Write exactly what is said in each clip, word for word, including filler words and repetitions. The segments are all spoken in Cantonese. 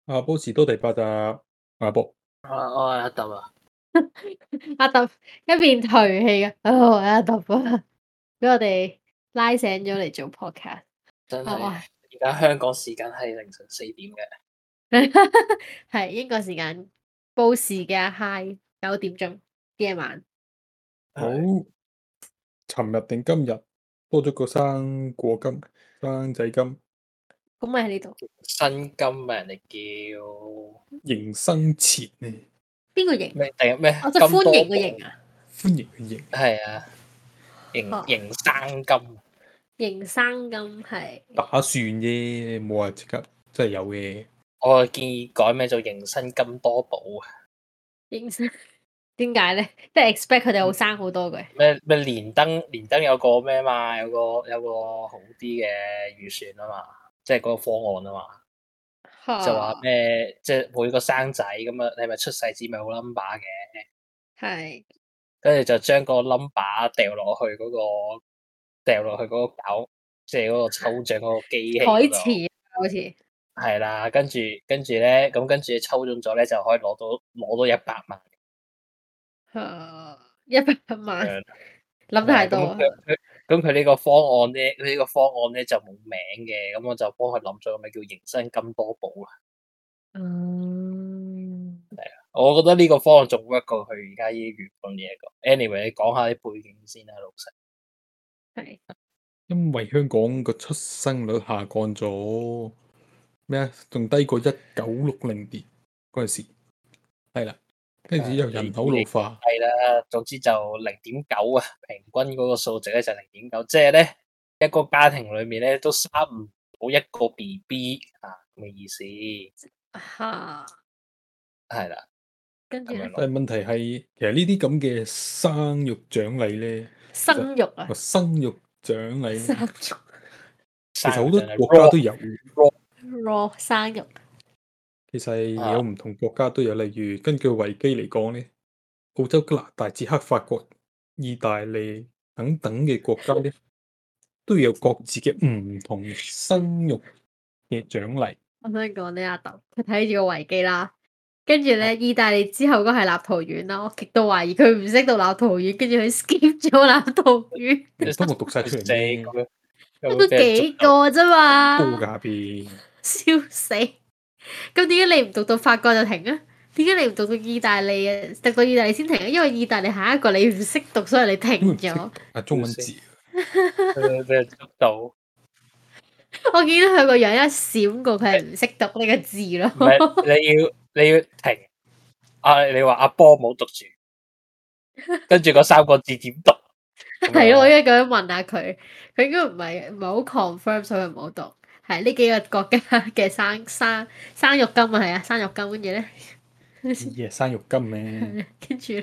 阿波士多第八集，阿波， 啊，我係阿揼啊， 阿揼一邊頹氣嘅，哦，阿揼啊，俾我哋拉醒咗嚟做 podcast， 真係係而家香港時間係凌晨四點嘅， 係英國時間報時嘅 high 九點鐘夜晚。 好，尋日定今日多咗個生果金、生仔金， 咁咪喺呢度。 新金啊，人哋叫迎新前呢？ 邊個迎？ 咩？第日咩？ 哦，即係歡迎嘅迎啊！ 歡迎嘅迎， 係啊，迎哦迎生金， 迎生金係打算啫，冇話即刻真係有嘅。 我建議改名做迎新金多寶啊！ 迎生，點解咧？即係 expect 佢哋好生好多嘅。 咩咩連登連登有個咩嘛？有個有個好啲嘅預算啊嘛，即係嗰個方案啊嘛。就話咩，即係每個生仔咁啊，你咪出世紙咪好 number 嘅， 係， 跟住就將個 number 掉落去嗰個掉落去嗰個搞，即係嗰個抽獎嗰個機器台嗰度， 詞好似係啦，跟住跟住咧，咁跟住抽中咗咧，就可以攞到攞到一百萬， 誒一百萬， 誒諗太多啊！ 咁佢佢咁佢呢個方案咧，佢呢個方案咧就冇名嘅，咁我就幫佢諗咗個名叫迎新金多寶啊。 嗯， 我覺得呢個方案仲 work 過佢而家呢啲月份嘢個。anyway，你講下啲背景先啦，老細。 係因為香港個出生率下降咗，咩啊？仲低過一九六零年嗰陣時，係啦，跟住又人口老化， 係啦，總之就零點九啊，平均嗰個數值咧就零點九，即係咧一個家庭裏面咧都生唔到一個 B B 啊，咁嘅意思。 嚇， 係啦， 跟住咧但係問題係，其實呢啲咁嘅生育獎勵咧， 生育啊個，生育獎勵生呢， 育其實好多國家都有。 raw 生育， 其實有唔同國家都有，例如根據維基嚟講咧，澳洲、加拿大、捷克、法國、意大利等等嘅國家咧，都有各自嘅唔同生育嘅獎勵。 我想講呢阿豆，佢睇住個維基啦，跟住咧意大利之後嗰係立陶宛啦，我極度懷疑佢唔識讀立陶宛，跟住佢 skip 咗立陶宛。 你幫我讀晒出嚟咩？ 都幾個啫嘛， 高價邊？ 笑死！咁點解你唔讀到法國就停啊？點解你唔讀到意大利啊？讀到意大利先停啊？因為意大利下一個你唔識讀，所以你停咗。 啊，中文字。 俾人捉到。 我見到佢個樣一閃過，佢係唔識讀呢個字咯。 唔係，你要你要停。啊，你話阿波冇讀住，跟住嗰三個字點讀？ 係咯，我應該咁樣問下佢，佢應該唔係唔係好 confirm，所以唔好讀。係呢幾個國家嘅生生生育金啊，係啊，生育金，跟住咧， 咦，生育金咩？ 跟住，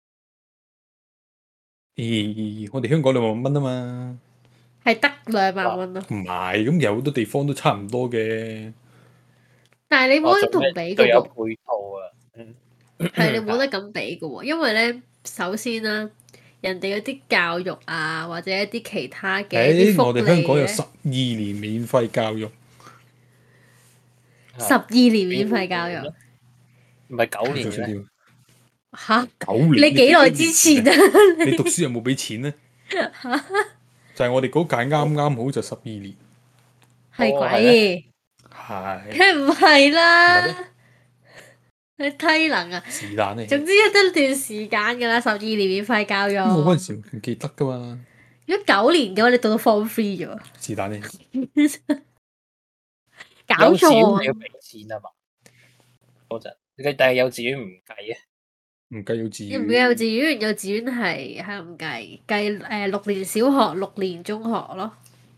咦，我哋香港兩萬蚊啊嘛， 係得兩萬蚊咯。 唔係，咁有好多地方都差唔多嘅。 但係你冇得同比嘅有喎， 配套啊， 係你冇得咁比嘅喎，因為咧，首先啦，人哋嗰啲教育啊，或者一啲其他嘅一啲福利我哋香港有咧， 十二年免費教育， 十二年免費教育， 唔係九年嘅咩？ 嚇， 九年。 你幾耐之前啊？ 你讀書有冇俾錢咧？就係我哋嗰屆啱啱好就十二年， 係鬼， 係梗唔係啦，你低能啊！ 是但咧。 總之一得段時間㗎啦，十二年免費教育。 我嗰陣時唔記得噶嘛。 如果九年嘅話，你讀到 form three 啫喎。 是但咧。 搞錯你要俾錢啊嘛？嗰陣，但係幼稚園唔計啊。 唔計幼稚園。 唔計幼稚園，幼稚園係係唔計，計誒六年小學、六年中學咯。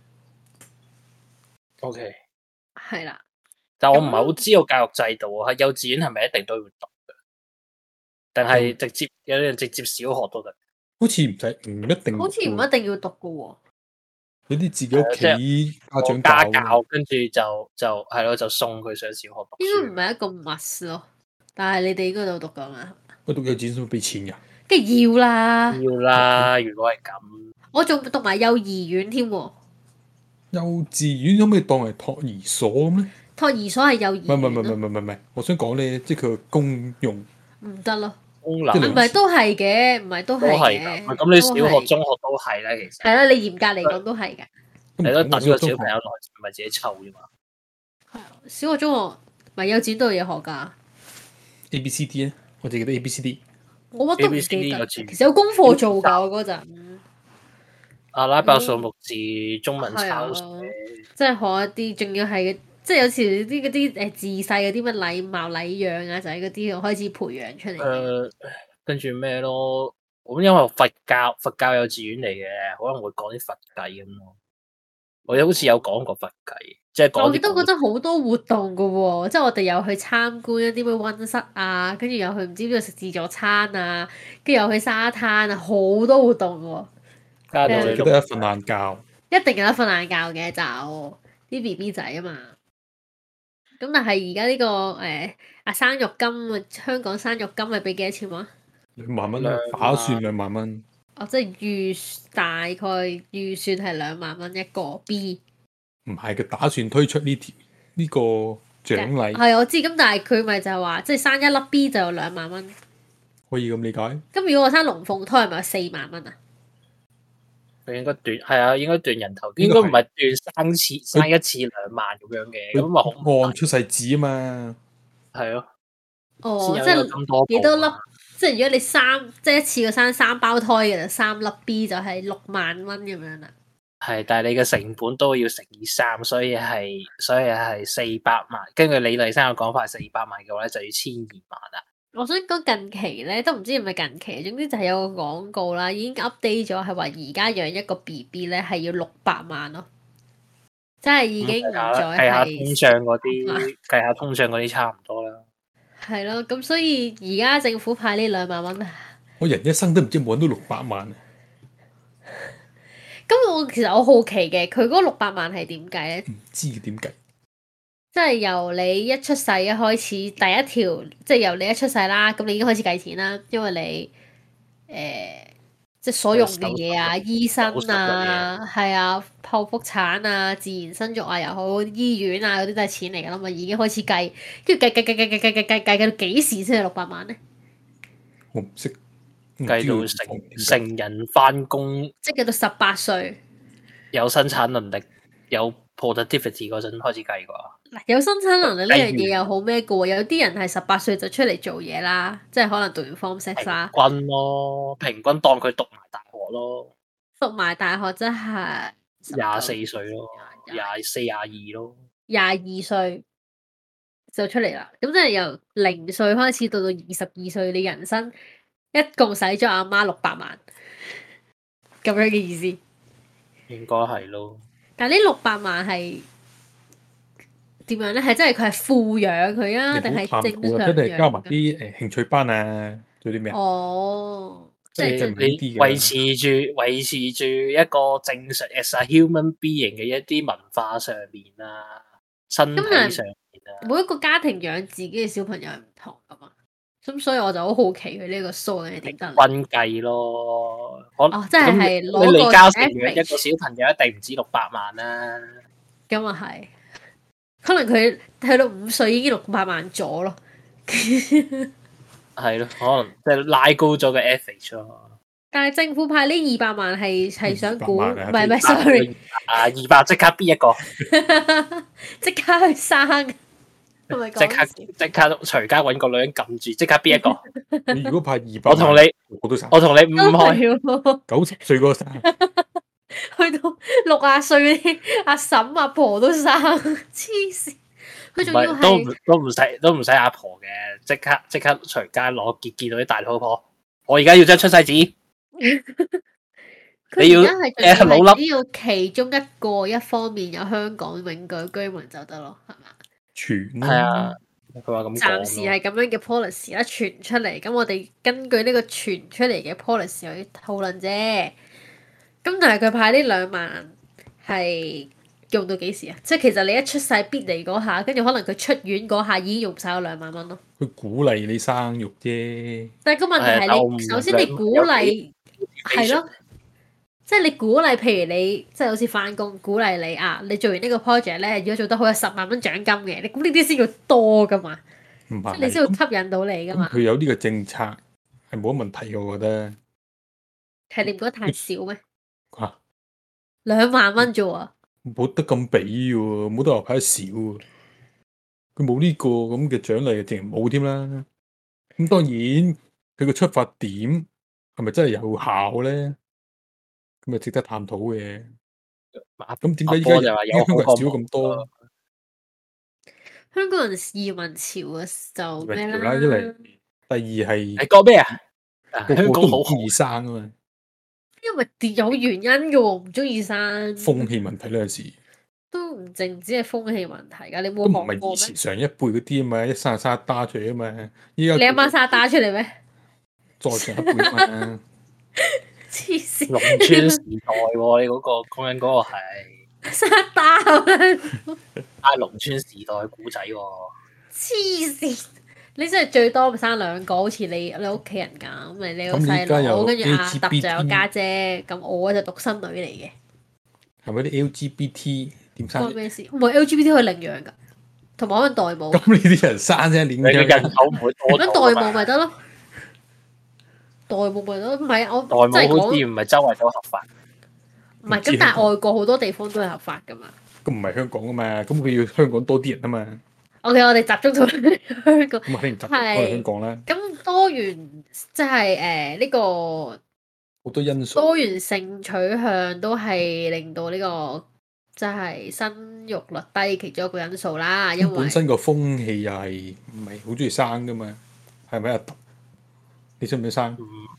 O K。 係啦。 但我唔係好知道教育制度啊，幼稚園係咪一定都要讀嘅？定係直接有啲人直接小學都得？ 好似唔使，唔一定。 好似唔一定要讀嘅喎。 有啲自己屋企家長家教， 教跟住就就係咯，就送佢上小學讀書。 應該唔係一個 must 咯，但係你哋應該都讀㗎嘛？ 我讀幼稚園都俾錢㗎。 梗係要啦。 要啦，如果係咁。 我仲讀埋幼兒園添喎。 幼稚園可唔可以當係托兒所咁咧？ 托兒所係幼兒園唔係唔係唔係唔係唔係，我想講咧，即係佢個功用唔得咯。 功能唔係都係嘅，唔係都係嘅。 咁你小學、中學都係啦，其實係啦，你嚴格嚟講都係㗎。 你都等個小朋友來，唔係自己湊啫嘛。 係啊，小學、中學咪幼稚園都有嘢學㗎。 A B C D 咧，我淨記得 A B C D。 我乜都唔記得，其實有功課做㗎，我嗰陣。 阿拉伯數目字、中文抄寫， 即係學一啲，仲要係即係有時啲嗰啲誒自細嗰啲乜禮貌禮讓啊，就係嗰啲開始培養出嚟。 誒，跟住咩咯？咁因為佛教佛教幼稚園嚟嘅，可能會講啲佛偈咁咯。我好似有講過佛偈，即係講。 我記得嗰陣好多活動㗎喎，即係我哋有去參觀一啲咩溫室啊，跟住又去唔知邊度食自助餐啊，跟住又去沙灘啊，好多活動㗎喎。 加到你記得一瞓晏覺。 一定有得瞓晏覺嘅，就啲 B B 仔啊嘛。咁但係而家呢個誒啊生育金啊，香港生育金係俾幾多錢話？ 兩萬蚊，打算兩萬蚊。 哦，即係預大概預算係兩萬蚊一個 B。 唔係，佢打算推出呢條呢個獎勵。 係我知，咁但係佢咪就係話，即係生一粒 B 就有兩萬蚊。 可以咁理解。 咁如果我生龍鳳胎，係咪有四萬蚊啊？ 佢應該斷係啊，應該斷人頭，應該唔係斷生次生一次兩萬咁樣嘅，咁咪好按出世紙啊嘛。 係咯。 哦，即係幾多粒？即係如果你三即係一次過生三胞胎嘅就三粒 B 就係六萬蚊咁樣啦。 係，但係你嘅成本都要乘以三，所以係所以係四百萬。根據李麗珊嘅講法，四百萬嘅話咧就要千二萬啦。 我想講近期咧，都唔知係咪近期，總之就係有個廣告啦，已經 update 咗，係話而家養一個 B B 咧係要六百萬咯，即係已經唔再係計下通脹嗰啲，計下通脹嗰啲差唔多啦。 係咯，咁所以而家政府派呢兩萬蚊， 我人一生都唔知揾到六百萬。 咁我其實我好奇嘅，佢嗰六百萬係點計咧？ 唔知點計？ 即係由你一出世一開始，第一條即係由你一出世啦，咁你已經開始計錢啦，因為你誒、呃、即係所用嘅嘢啊，醫生啊，係啊，剖腹產啊，自然生育啊又好，醫院啊嗰啲都係錢嚟㗎啦嘛，已經開始計，跟住計計計計計計計計計計到幾時先係六百萬咧？ 我唔識。 計到成成人翻工， 即係計到十八歲， 有生產能力，有 productivity 嗰陣開始計啩。 嗱，有生產能力呢樣嘢又好咩嘅喎？有啲人係十八歲就出嚟做嘢啦，即係可能讀完 form six 啦。 平均咯，平均當佢讀埋大學咯。 讀埋大學即係廿四歲咯，廿四廿二咯。 廿二歲就出嚟啦，咁即係由零歲開始到到二十二歲，你人生一共使咗阿媽六百萬，咁樣嘅意思。 應該係咯。 但係呢六百萬係點樣咧？係真係佢係富養佢啊，定係正常養？ 真係加埋啲誒興趣班啊，做啲咩啊？ 哦， 即係你維持住維持住一個正常 as a human being 嘅一啲文化上面啊，身體上面啊。 每一個家庭養自己嘅小朋友係唔同噶嘛，咁所以我就好好奇佢呢個數係點得？ 均計咯， 哦，即係係攞個李嘉誠養一個小朋友一定唔止六百萬啦。 咁啊係，可能佢去到五歲已經六百萬咗咯。 係咯，可能即係拉高咗個 average 咯。 但係政府派呢二百萬係係想估，唔係唔係，sorry， 啊二百即刻邊一個？ 即刻去生。 即刻即刻隨街揾個女人撳住，即刻邊一個？ 你如果派二百， 我同你， 我都生。 我同你唔開。 九十歲嗰個生， 去到六啊歲嗰啲阿嬸阿婆都生，黐線。佢仲要係都都唔使都唔使阿婆嘅，即刻即刻隨街攞見見到啲大肚婆。我而家要張出世紙。 你要誒老粒，只要其中一個一方面有香港永居居民就得咯，係嘛？ 傳係啊，佢話咁講。 暫時係咁樣嘅 policy 啦，傳出嚟，咁我哋根據呢個傳出嚟嘅 policy 去討論啫。咁但係佢派呢兩萬係用到幾時啊？即係其實你一出世必嚟嗰下，跟住可能佢出院嗰下已經用晒嗰兩萬蚊咯。 佢鼓勵你生育啫。 但係個問題係你首先你鼓勵係咯， 即係你鼓勵，譬如你即係好似翻工，鼓勵你啊，你做完呢個 project 咧，如果做得好有十萬蚊獎金嘅，你咁呢啲先叫多噶嘛？ 唔係， 即係你先會吸引到你噶嘛？ 佢有呢個政策係冇乜問題嘅，我覺得。 係你唔覺得太少咩？ 嚇！ 兩萬蚊啫喎！ 冇得咁俾喎，冇得話派得少喎。佢冇呢個咁嘅獎勵，淨係冇添啦。咁當然佢個出發點係咪真係有效咧？咁咪值得探討嘅。咁點解依家人香港人少咁多？ 香港人移民潮嘅就咩啦？ 一嚟，第二係你講咩啊？ 個個都唔中意生啊嘛。 因為有原因嘅喎，唔中意生。 風氣問題呢，有時都唔淨止係風氣問題㗎，你冇都唔係學過以前上一輩嗰啲啊嘛，一生就生一打出嚟啊嘛。依家你阿媽生一打出嚟咩？ 再上一輩啊嘛。 黐線！ 農村時代喎，你嗰個講緊嗰個係生一打啊！ 啊，農村時代古仔喎。 黐線！你真係最多咪生兩個，好似你你屋企人咁，咪你個細佬，跟住阿揼就有家姐，咁我就獨生女嚟嘅。 係咪啲 L G B T 點生？ 關咩事？唔係 L G B T 可以領養㗎，同埋可能代母。 咁呢啲人生啫，領養人口唔會多。 咁代母咪得咯？代母咪得，唔係我代母好似唔係周圍都合法。 唔係咁，但係外國好多地方都係合法㗎嘛。 咁唔係香港㗎嘛？咁佢要香港多啲人啊嘛。 O.K. 我哋集中到香港。 咁肯定集中喺香港啦。 咁多元即係誒呢個好多因素。 多元性取向都係令到呢個即係生育率低其中一個因素啦。因為本身個風氣又係唔係好中意生㗎嘛？係咪啊？你想唔想生？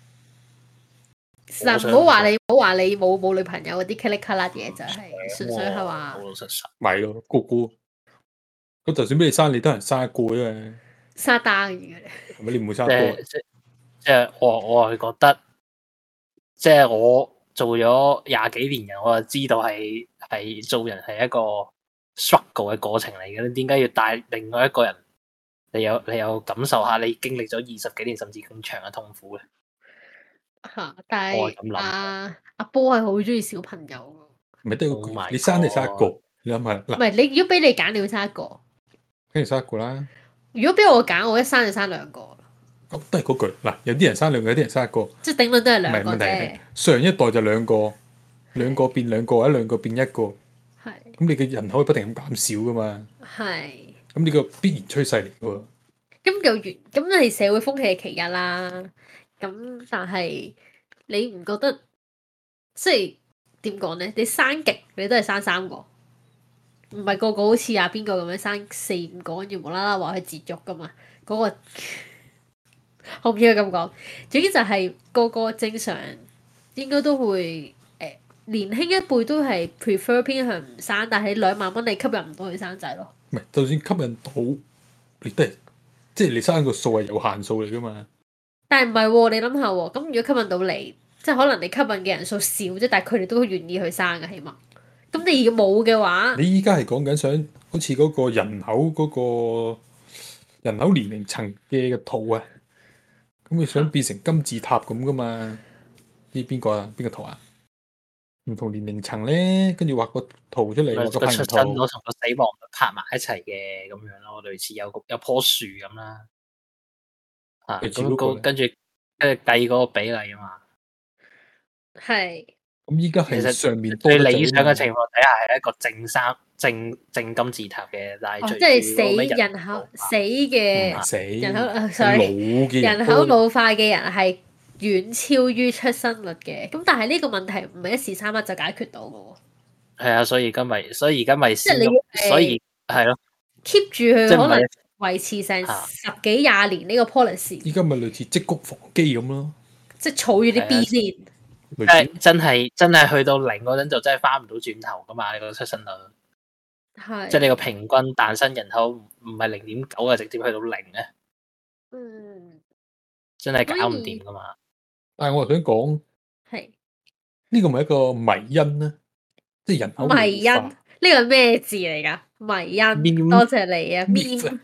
嗱，唔好話你，唔好話你冇冇女朋友嗰啲 click click 嘢，就係純粹係話。 老老實實。 咪咯，個個。咁就算俾你生，你都係生一個啫嘛。 生單嘅。 係咪你唔會生多？ 即即係我我係覺得，即係我做咗廿幾年人，我就知道係係做人係一個 struggle 嘅過程嚟嘅。你點解要帶另外一個人？你有你有感受下你經歷咗二十幾年甚至更長嘅痛苦嘅？ 嚇！但係阿阿波係好中意小朋友。 唔係都要你生你生一個，你諗下嗱。 唔係你如果俾你揀，你要生一個。 跟住生一個啦。 如果俾我揀，我一生就生兩個。 哦，都係嗰句嗱，有啲人生兩個，有啲人生一個。 即係頂多都係兩個啫。唔係問題， 上一代就兩個，兩個變兩個，或者兩個變一個。係。咁你嘅人口會不停咁減少噶嘛？係。咁呢個必然趨勢嚟嘅喎。咁有原，咁係社會風氣嘅其一啦。咁但係你唔覺得即係點講咧？你生極你都係生三個。唔係個個好似阿邊個咁樣生四五個，跟住無啦啦話佢節育噶嘛？嗰、嗰個我唔應該咁講。總之就係個個正常應該都會誒、呃、年輕一輩都係 prefer 偏向唔生，但係兩萬蚊你吸引唔到佢生仔咯。 唔係，就算吸引到，你都係即係你生個數係有限數嚟噶嘛？ 但係唔係喎？你諗下喎，咁如果吸引到你，即係可能你吸引嘅人數少啫，但係佢哋都願意去生嘅，起碼。咁你如果冇嘅話， 你依家係講緊想好似嗰個人口嗰個人口年齡層嘅嘅圖啊，咁你想變成金字塔咁噶嘛？知邊個啊？邊個圖啊？唔同年齡層咧，跟住畫個圖出嚟，畫個出生圖咯，同個死亡拍埋一齊嘅咁樣咯，類似有個有棵樹咁啦。啊，咁個跟住跟住計嗰個比例啊嘛。係。 咁依家係上面最理想嘅情況底下係一個正三正正金字塔嘅，但係最即係死人口死嘅死人口，sorry，人口老化嘅人係遠超於出生率嘅。咁但係呢個問題唔係一時三刻就解決到嘅喎。 係啊，所以而家咪所以而家咪先，所以係咯 keep 住佢可能維持成十幾廿年呢個 policy。 依家咪類似積谷防饑咁咯， 即係儲住啲 B 先。 即係真係真係去到零嗰陣就真係翻唔到轉頭噶嘛？你個出生率係即係你個平均誕生人口唔係零點九啊，直接去到零咧。嗯，真係搞唔掂噶嘛？ 但係我又想講，係呢個咪一個迷因咧，即係人口迷因呢個係咩字嚟㗎？迷因，多謝你啊 ！meme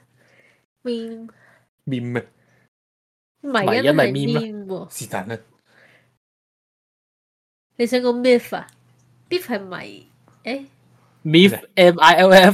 meme meme 咩？ 迷因係 meme 喎， 是但啦。 你想講 myth 啊 ？myth 係咪？誒 myth M I L F。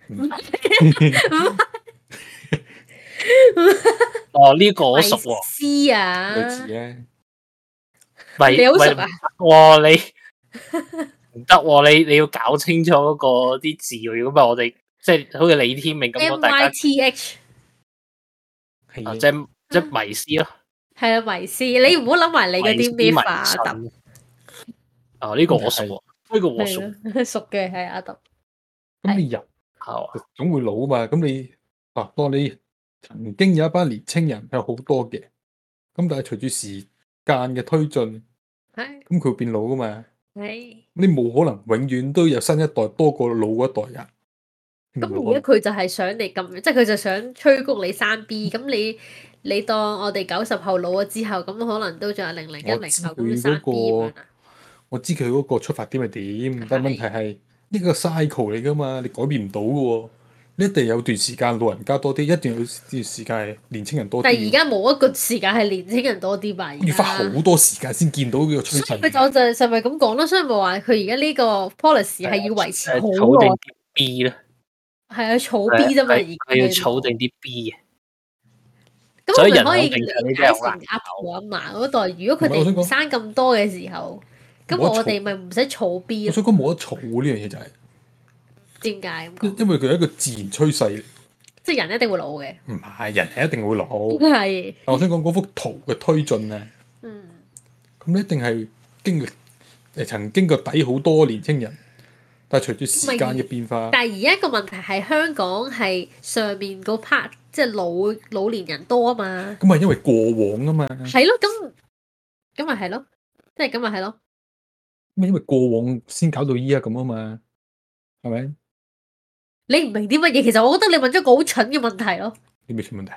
哦，呢個我熟喎。 迷思啊！ 類似咧。 你好熟啊？ 哇！你唔得喎，你你要搞清楚嗰個啲字喎。如果唔係我哋即係好似李天命咁講，大家 M Y T H 啊，即係即係迷思咯。 係啊，迷思，你唔好諗埋你嗰啲咩法啊，阿揼。 哦，呢個我熟喎，呢個我熟。 熟嘅係阿揼。 咁你人總會老啊嘛，咁你啊，當你曾經有一班年青人係好多嘅，咁但係隨住時間嘅推進，咁佢會變老噶嘛。你冇可能永遠都有新一代多過老嗰一代人。 咁而家佢就係想你咁，即係佢就想催谷你生 B。咁你你當我哋九十後老咗之後，咁可能都仲有零零一零後咁生 B 咁樣。 我知佢嗰個出發點係點，但係問題係呢個 cycle 嚟噶嘛，你改變唔到嘅喎。你一定有段時間老人家多啲，一定有段時間係年青人多啲。 但係而家冇一個時間係年青人多啲吧？ 要花好多時間先見到呢個趨勢。 佢就就係咪咁講咯？所以咪話佢而家呢個 policy 係要維持好耐。 儲定啲 B 咧， 係啊，儲 B 啫嘛，而佢要儲定啲 B 嘅。 咁我咪可以理解成阿婆阿嫲嗰代，如果佢哋唔生咁多嘅時候，咁我哋咪唔使儲 B 咯。 我想講冇得儲呢樣嘢就係點解咁講？ 因為佢係一個自然趨勢， 即係人一定會老嘅。 唔係人係一定會老。 係。 但我想講嗰幅圖嘅推進咧，嗯，咁你一定係經歷誒曾經個底好多年青人，但係隨住時間嘅變化。 但係而家個問題係香港係上面嗰 part 即係老老年人多啊嘛。 咁係因為過往啊嘛。 係咯，咁咁咪係咯，即係咁咪係咯。 咁因為過往先搞到依家咁啊嘛，係咪？ 你唔明啲乜嘢？其實我覺得你問咗個好蠢嘅問題咯。 啲咩出問題？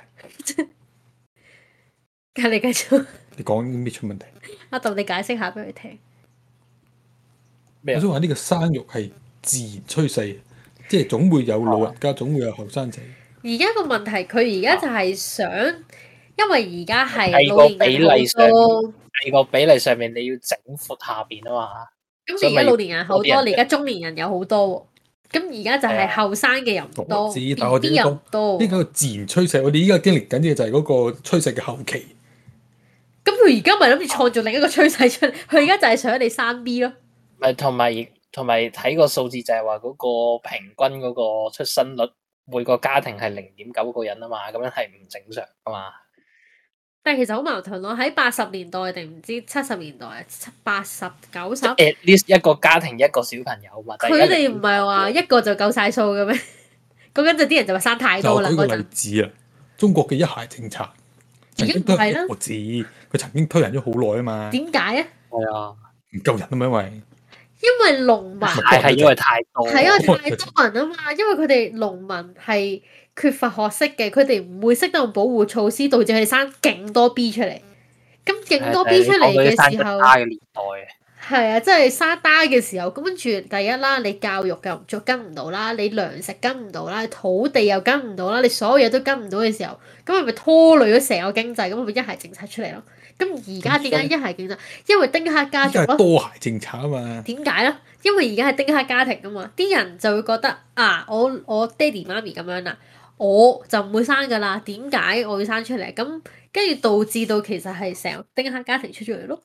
咁你繼續。 你講啲咩出問題？ 阿豆，你解釋下俾佢聽。 我想話呢個生育係自然趨勢，即係總會有老人家，總會有後生仔。 而家個問題，佢而家就係想，因為而家係喺個比例上，喺個比例上面你要整闊下邊啊嘛。 咁而家老年人好多，你而家中年人有好多喎。咁而家就係後生嘅人唔多， 但我哋又唔多。 呢個自然趨勢，我哋依家經歷緊嘅就係嗰個趨勢嘅後期。 咁佢而家咪諗住創造另一個趨勢出嚟？佢而家就係想你生 B 咯。 咪同埋同埋睇個數字就係話嗰個平均嗰個出生率，每個家庭係零點九個人啊嘛，咁樣係唔正常噶嘛。 但係其實好矛盾咯，喺八十年代定唔知七十年代啊，八十九十 at least 一個家庭一個小朋友嘛。 佢哋唔係話一個就夠晒數嘅咩？嗰陣就啲人就話生太多啦。 就舉個例子啊，中國嘅一孩政策曾經都係我知，佢曾經推行咗好耐啊嘛。 點解啊？ 係啊， 唔夠人啊嘛，因為因為農民係因為太多， 係因為太多人啊嘛，因為佢哋農民係缺乏學識嘅，佢哋唔會識得用保護措施，導致佢哋生勁多 B 出嚟。咁勁多 B 出嚟嘅時候，係啊，即係生單嘅時候，咁跟住第一啦，你教育又唔跟唔到啦，你糧食跟唔到啦，土地又跟唔到啦，你所有嘢都跟唔到嘅時候，咁係咪拖累咗成個經濟？咁咪一孩政策出嚟咯。咁而家點解一孩政策？因為丁克家族咯。 多孩政策啊嘛。 點解咧？因為而家係丁克家庭啊嘛，啲人就會覺得啊，我我爹哋媽咪咁樣啦，我就唔會生噶啦。點解我要生出嚟？咁跟住導致到其實係成個丁克家庭出咗嚟咯，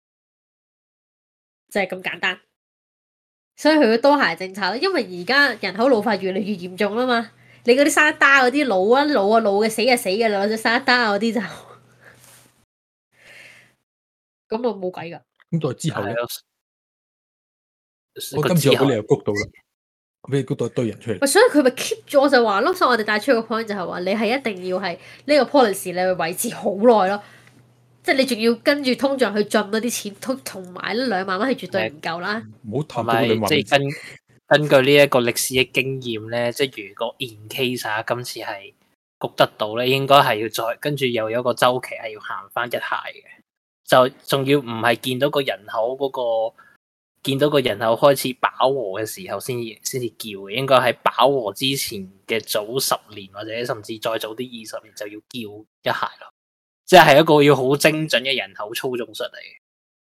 就係咁簡單。所以佢嘅多孩政策咯，因為而家人口老化越嚟越嚴重啦嘛。你嗰啲生單嗰啲老啊老啊老嘅死啊死嘅啦，或者生單嗰啲就咁啊冇計噶。 咁再之後咧，我今次我俾你又谷到啦，我俾你谷到一堆人出嚟。 所以佢咪 keep 咗，我就話咯，所以我哋帶出個 point 就係話，你係一定要係呢個 policy，你去維持好耐咯。即係你仲要跟住通脹去進嗰啲錢，同同埋呢兩萬蚊係絕對唔夠啦。 唔好談到兩萬。 即係根根據呢一個歷史嘅經驗咧，即係如果 in case 啊，今次係谷得到咧，應該係要再跟住又有一個週期係要行翻一下嘅。就仲要唔係見到個人口嗰、嗰個，見到個人口開始飽和嘅時候先至先至叫嘅，應該喺飽和之前嘅早十年或者甚至再早啲二十年就要叫一孩咯，即係一個要好精準嘅人口操縱術嚟嘅。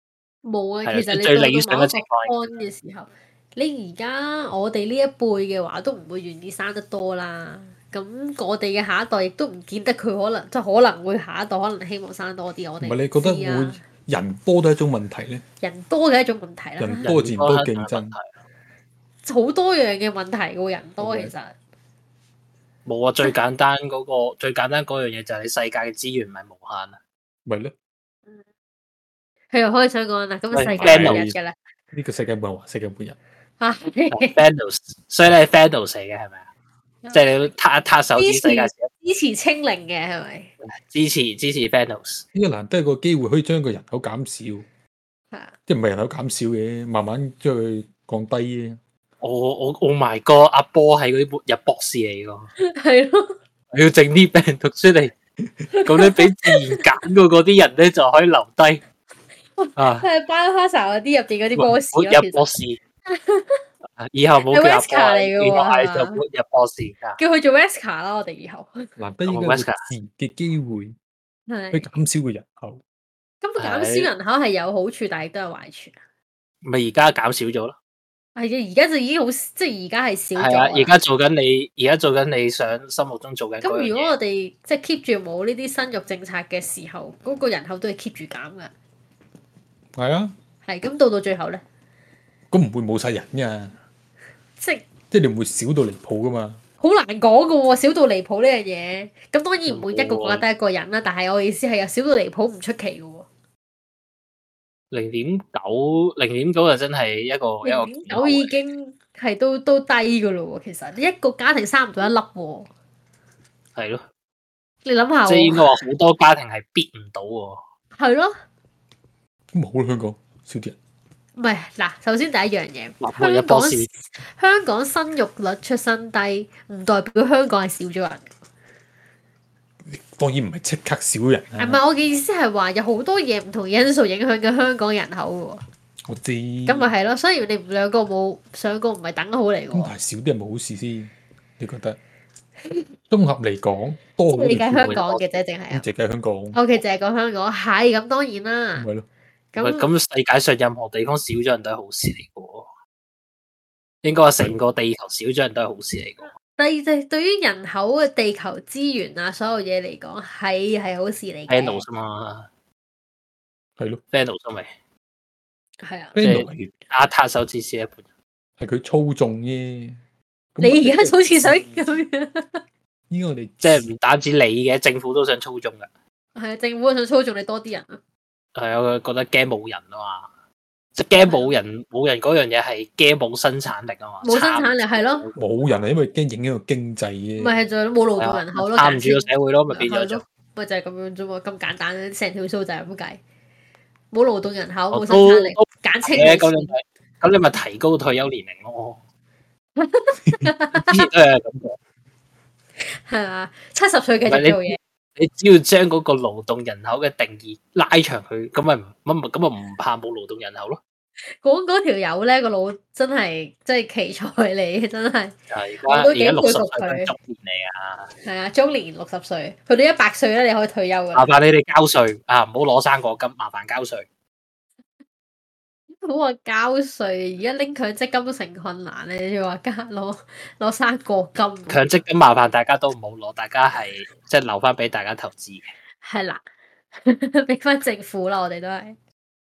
冇啊， 係其實你最理想到到某一個嘅情況 point 嘅時候，你而家我哋呢一輩嘅話，都唔會願意生得多啦。咁我哋嘅下一代亦都唔見得佢可能，即係可能會下一代可能希望生多啲。我哋唔係你覺得知啊會人多都係一種問題咧？ 人多嘅一種問題啦， 人多自然多競爭， 好多樣嘅問題喎。人多其實冇啊，最簡單嗰、個最簡單嗰樣嘢就係你世界嘅資源唔係無限啊。 咪咧？ 佢又開始想講啦，咁世界喂末日嘅啦， 呢個世界冇人話世界末日。 嚇 Thanos，所以你係 Thanos 嚟嘅係咪啊？即係你撻一撻手指， 支持世界支持清零嘅係咪？ 支持支持 Thanos。 呢個難得一個機會可以將個人口減少， 係啊， 即係唔係人口減少嘅，慢慢將佢降低嘅。 我我 Oh my God，阿波係嗰啲末日博士嚟㗎， 係咯， 我要整啲病毒出嚟，咁你俾自然揀過嗰啲人咧就可以留低啊。 係 Biohazard 嗰啲入邊嗰啲 boss 末咯，其實日博士，以後冇叫阿波， Wesker 嚟㗎喎以後係係嘛就末日博士啊。 叫佢做 Wesker 啦，我哋以後難得呢個自然嘅機會去係。 減少個人口。 咁減少人口係有好處，但係亦都有壞處。 咪而家減少咗咯。 係嘅，而家就已經好，即係而家係少咗係啊， 啦。 而家做緊你，而家做緊你想心目中做緊嗰樣嘢。 咁如果我哋即係 keep 住冇呢啲生育政策嘅時候，嗰、個人口都係 keep 住減㗎。 係啊， 係咁到到最後咧， 咁唔會冇晒人㗎， 即係即係你唔會少到離譜㗎嘛。 好難講㗎喎，少到離譜呢樣嘢。咁當然唔會一個國家得一個人啦，但係我意思係有少到離譜唔出奇㗎喎。 零點九，零點九就真係一個一個零點九已經係都都低㗎咯喎，其實一個家庭生唔到一粒喎。 係咯， 你諗下喎， 即係應該話好多家庭係逼唔到喎。 係咯。 咁咪好啦，香港少啲人。 唔係嗱，首先第一樣嘢， 末日香港博士香港生育率出生低，唔代表香港係少咗人。 當然唔係即刻少人唔啦。 係，我嘅意思係話有好多嘢唔同因素影響緊香港人口嘅喎。 我知。 咁咪係咯，所以你兩個冇上個唔係等好嚟嘅咁喎。 但係少啲人冇好事先，你覺得？綜合嚟講，多好你計香啲。 港嘅啫，淨係啊。 咁淨係香港。 O K，淨係講香港，係咁當然啦。 咪咯。 喂咁咁世界上任何地方少咗人都係好事嚟嘅喎，應該話成個地球少咗人都係好事嚟嘅。 第二就係對於人口嘅地球資源啊，所有嘢嚟講係係好事嚟嘅。 Thanos 嘛， 係咯。 Thanos 咪係啊。 即 Thanos 係阿塔手指少一半。 係佢操縱啫。 你而家好似想咁樣。 依家我哋即係唔單止你嘅，政府都想操縱㗎。 係啊，政府想操縱你多啲人啊。 係啊，佢覺得驚冇人啊嘛，即係驚冇人冇人嗰樣嘢係驚冇生產力啊嘛。 冇生產力係咯。 冇人係因為驚影響個經濟啫。 咪係就係冇勞動人口咯， 撐唔住個社會咯，咪變咗做。 咪就係咁樣啫嘛，咁簡單，成條數就係咁計。冇勞動人口，冇我生產力都， 簡稱嘅咁冇錢。 你咪咁你咪提高退休年齡咯。之前都係咁講。 係嘛？七十歲繼續做嘢。 你只要將嗰個勞動人口嘅定義拉長佢，咁咪咁咪咁咪唔怕冇勞動人口咯。 講嗰條友咧個腦真係真係奇才嚟，真係。 係我都幾而家六十歲佩服佢係中年嚟啊！ 係啊，中年六十歲，去到一百歲咧，你可以退休噶啦。 麻煩你哋交稅啊，唔好攞生果金，麻煩交稅。 好話交稅，而家拎強積金都成困難咧，你仲話加攞攞生果金？ 強積金麻煩大家都唔好攞，大家係即係留翻俾大家投資嘅。 係啦，俾翻政府啦，我哋都係。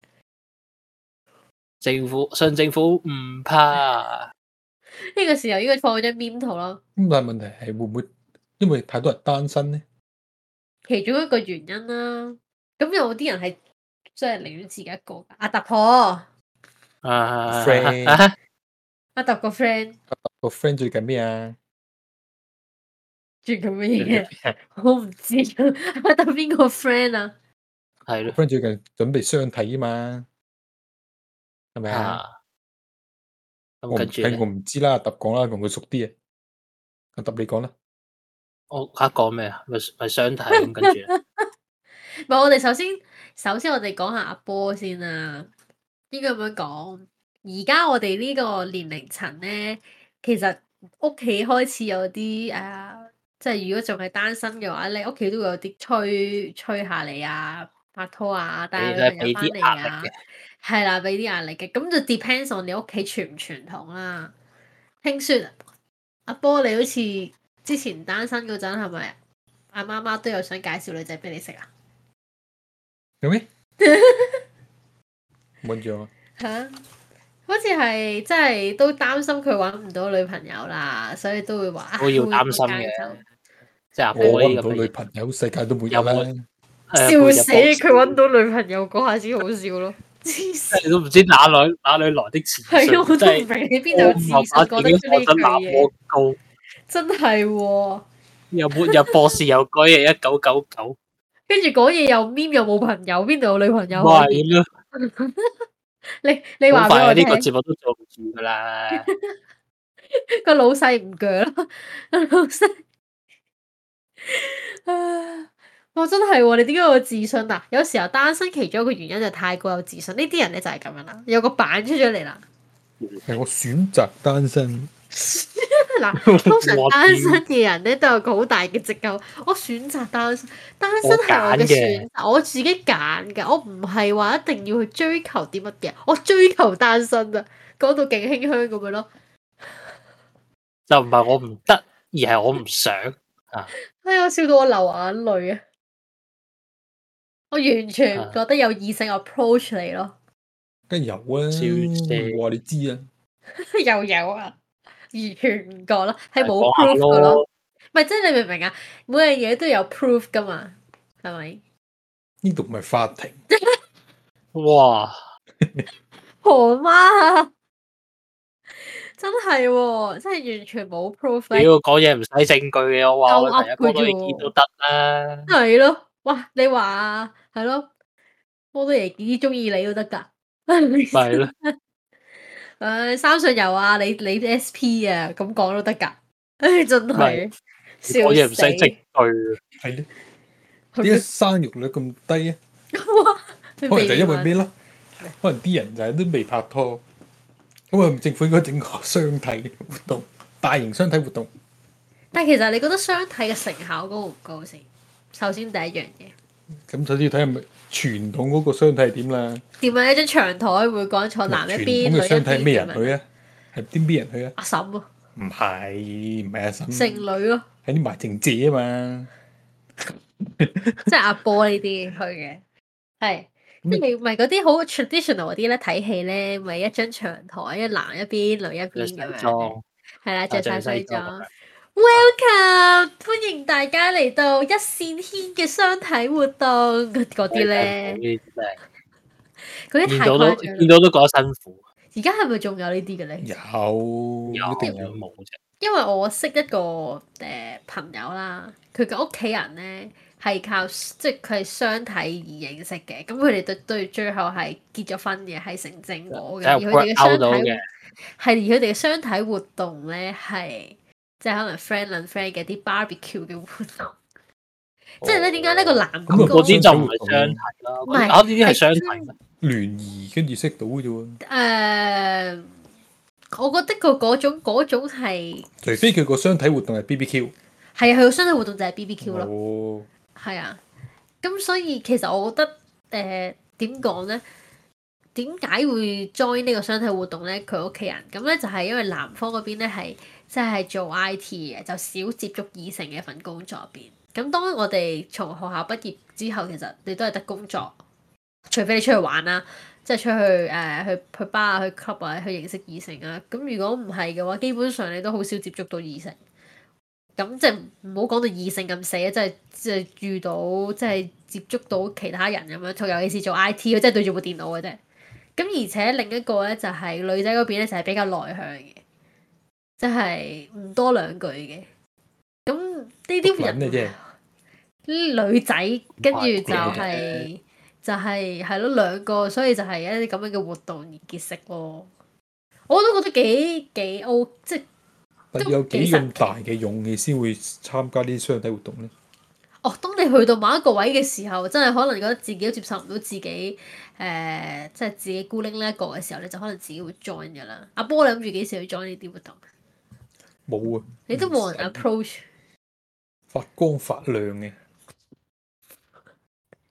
政府信政府唔怕。 呢個時候應該放咗張 meme 圖咯。 咁但係問題係會唔會因為太多人單身咧？ 其中一個原因啦。咁有啲人係即係寧願自己一個㗎。阿達婆。 啊 friend 阿達個 friend。 個 friend 最近咩啊？ 最近咩嘢？我唔知啊。阿達邊個 friend 啊？ 係咯。 friend 最近準備相睇啊嘛，係咪啊？ 咁我唔跟住咧， 我唔知啦，阿揼講啦，同佢熟啲啊。阿揼你講啦。 我嚇講咩啊？咪咪相睇咁跟住咧。 唔係，我哋首先首先我哋講下阿波先啦。應該咁樣講，而家我哋呢個年齡層咧，其實屋企開始有啲誒、呃，即係如果仲係單身嘅話咧，屋企都會有啲催催下你啊， 拍拖啊，帶女你都係朋友翻嚟俾啲壓力啊嘅， 係啦，俾啲壓力嘅，咁就 depends on 你屋企傳唔傳統啦。聽說阿波你好似之前單身嗰陣係咪阿媽媽都有想介紹女仔俾你識啊？ 有咩？冇咗。 嚇！好似係真係都擔心佢揾唔到女朋友啦，所以都會話都要擔心嘅。即係阿波我揾唔到呢咁嘅女朋友，世界都冇有有啦。 誒笑死！ 背脊佢揾到女朋友嗰下先好笑咯，黐你線！ 都唔知哪來哪裏來的自信， 係啊，我都唔真係明你邊度有自信講得出呢句嘢， 高， 真係喎！ 又沒有博士又改嘢一九九九， 跟住講嘢又 meme 又冇朋友，邊度有女朋友可係以？ 咯， 你你話俾好快啊！ 我聽， 呢個節目都做唔住噶啦， 個老細唔鋸啦，個老細啊！我真係喎，你點解有自信啊？有時候單身其中一個原因就太過有自信，呢啲人咧就係咁樣啦，有個版出咗嚟啦。 係我選擇單身。 嗱，通常單身嘅人咧都有個好大嘅藉口，我選擇單身，單身係我嘅選擇，我自己揀嘅，我唔係話一定要去追求啲乜嘅，我追求單身啊，講到勁馨香咁樣咯。 就唔係我唔得，而係我唔想啊！ 哎呀，我笑到我流眼淚啊！我完全唔覺得有異性 approach 你咯。 梗係有啊，我話你知啊。 又有啊，完全唔覺啦，係冇 proof 噶咯。唔係，即係你明唔明啊？每樣嘢都有 proof 噶嘛，係咪？ 呢度唔係法庭。 哇！ 何媽啊！真係喎，真係完全冇 proof。 屌，講嘢唔使證據嘅，我話我第一波都已見都得啦。 係咯，哇！你話係咯，波多爺幾中意你都得㗎。 係咯。 誒，三上游啊，你你 S P 啊，咁講都得㗎。唉，真係笑死。 講嘢唔使證據， 係咧。點解生育率咁低啊？ 哇！ 可能就因為咩咯？可能啲人就係都未拍拖。咁啊，政府應該整個相睇活動，大型相睇活動。 但係其實你覺得相睇嘅成效高唔高先？首先第一樣嘢。 咁首先要睇係咪傳統嗰個相睇係點啦？ 點啊？一張長台會講坐男一邊，女一邊。 傳統嘅相睇係咩人去啊？係邊邊人去啊？ 阿嬸咯。 唔係，唔係阿嬸。 剩女咯。 係啲賣剩姐啊嘛。 即係阿波呢啲去嘅，係。即係咪嗰啲好 traditional 嗰啲咧？睇戲咧，咪一張長台，一男一邊，女一邊咁樣。係啦，着晒西裝。Welcome，歡迎大家嚟到一線牽嘅相睇活動嗰啲咧。嗰啲太誇張， 見到都覺得辛苦。 而家係咪仲有呢啲嘅咧？ 有， 有一定有冇啫？ 因為我識一個誒、呃、朋友啦，佢嘅屋企人咧。係靠即係佢係相睇而認識嘅，咁佢哋對對最後係結咗婚嘅，係成正果嘅。而佢哋嘅相睇係而佢哋嘅相睇活動咧係即係可能 friend 撚 friend 嘅啲 barbecue 嘅活動。即係咧點解呢個男咁嗰啲就唔係相睇啦，唔係啊呢啲係相睇咩？ 聯誼跟住識到嘅啫喎。 誒，我覺得個嗰種嗰種係， 除非佢個相睇活動係 B B Q。 係啊，佢個相睇活動就係 B B Q 咯。 哦。 係啊，咁所以其實我覺得誒點講咧？點解會 join 呢個相睇活動咧？佢屋企人咁咧就係因為男方嗰邊咧係即係做 I T 嘅，就少接觸異性嘅一份工作入邊。咁當我哋從學校畢業之後，其實你都係得工作，除非你出去玩啦，即係出去誒、呃、去去 bar 啊、去 club 啊、去認識異性啊。咁如果唔係嘅話，基本上你都好少接觸到異性。咁即係唔好講到異性咁死啊！即係即係遇到即係接觸到其他人咁樣，尤其是做 I T，佢真係對住部電腦嘅啫。咁而且另一個咧就係、是、女仔嗰邊咧就係比較內向嘅，即係唔多兩句嘅。咁呢啲人呢啲女仔跟住就係、是、就係係咯兩個，所以就係一啲咁樣嘅活動而結識咯。我都覺得幾幾 O 即係。 有幾咁大嘅勇氣先會參加啲相睇活動咧？ 哦，當你去到某一個位嘅時候，真係可能覺得自己都接受唔到自己，誒、呃，即係自己孤零零一個嘅時候，你就可能自己會 join 噶啦。阿波，你諗住幾時去 join 呢啲活動？ 冇啊！ 你都冇人 approach。 發光發亮嘅。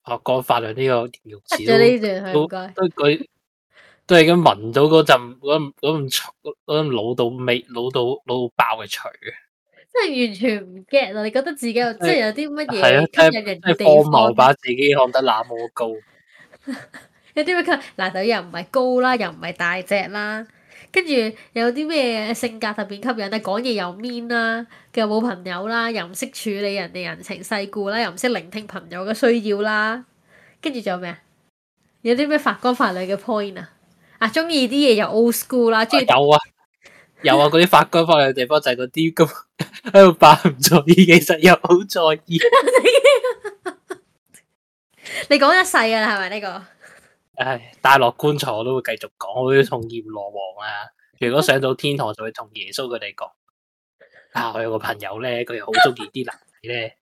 啊，講法律呢個形容詞咗呢段都係都佢都已經聞到嗰陣嗰嗰陣嗰陣老到味老到老到爆嘅除嘅， 真係完全唔 get 啊！你覺得自己有即係有啲乜係啊， 嘢吸引人嘅地即係荒方？ 謬把自己看得那麼高， 有啲咩吸引？嗱，就又唔係高啦，又唔係大隻啦，跟住有啲咩性格特別吸引咧？講嘢又 mean 啦，又冇朋友啦，又唔識處理人哋人情世故啦，又唔識聆聽朋友嘅需要啦，跟住仲有咩啊？有啲咩發光發亮嘅 point 啊？啊，中意啲嘢又 old school 啦，中意有啊有啊，嗰啲發光發亮嘅地方就係嗰啲咁喺度扮唔在意，其實又好在意。 你講一世㗎啦，係咪呢個？ 唉，帶落棺材我都會繼續講，我會同閻羅王啊，如果上到天堂就會同耶穌佢哋講。啊，我有個朋友咧，佢又好中意啲男仔咧。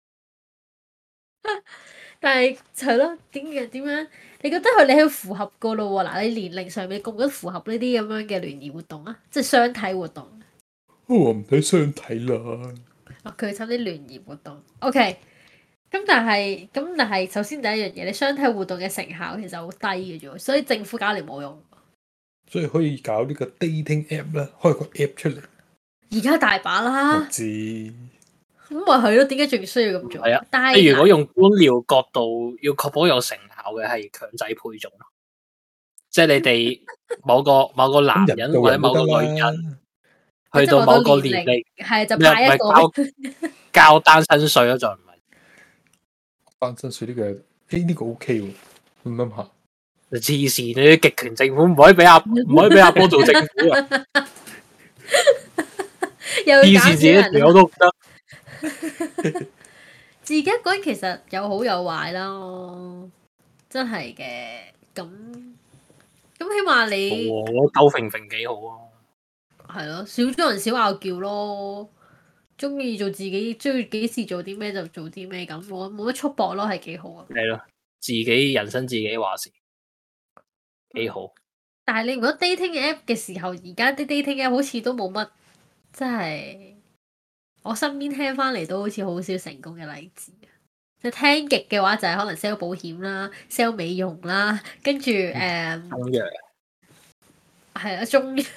但係係咯，點嘅點樣？你覺得佢哋係符合個咯喎？嗱，你年齡上面覺唔覺得符合呢啲咁樣嘅聯誼活動啊？即係相睇活動。 我唔使相睇啦。 哦，佢參啲聯誼活動。OK，咁但係咁但係，首先第一樣嘢，你相睇活動嘅成效其實好低嘅啫，所以政府搞嚟冇用。 所以可以搞呢個 dating app 啦，開個 app 出嚟。 而家大把啦。 我知。 咁咪係咯？點解仲需要咁做？ 係啊， 但係如果用官僚角度，要確保有成效嘅係強制配種咯。即係你哋某個某個男人或者某個女人，去到某個年齡， 係就派一個交交單身稅咯，就唔係單身稅呢個，誒呢個 OK 喎，諗諗下。 黐線，你啲極權政府唔可以俾阿唔可以俾阿波做政府啊！ 黐線自己條友都唔得。 自己一個人其實有好有壞啦，真係嘅。咁咁起碼你我兜揈揈幾好啊！ 係咯，少咗人少拗撬咯，中意做自己，中意幾時做啲咩就做啲咩咁，冇冇乜束縛咯，係幾好啊！ 係咯，自己人生自己話事，幾好。 但係你如果 dating app 嘅時候，而家啲 dating app 好似都冇乜，真係我身邊聽翻嚟都好似好少成功嘅例子。即係聽極嘅話，就係可能 sell 保險啦、sell 美容啦，跟住誒， 中藥係啊，中藥。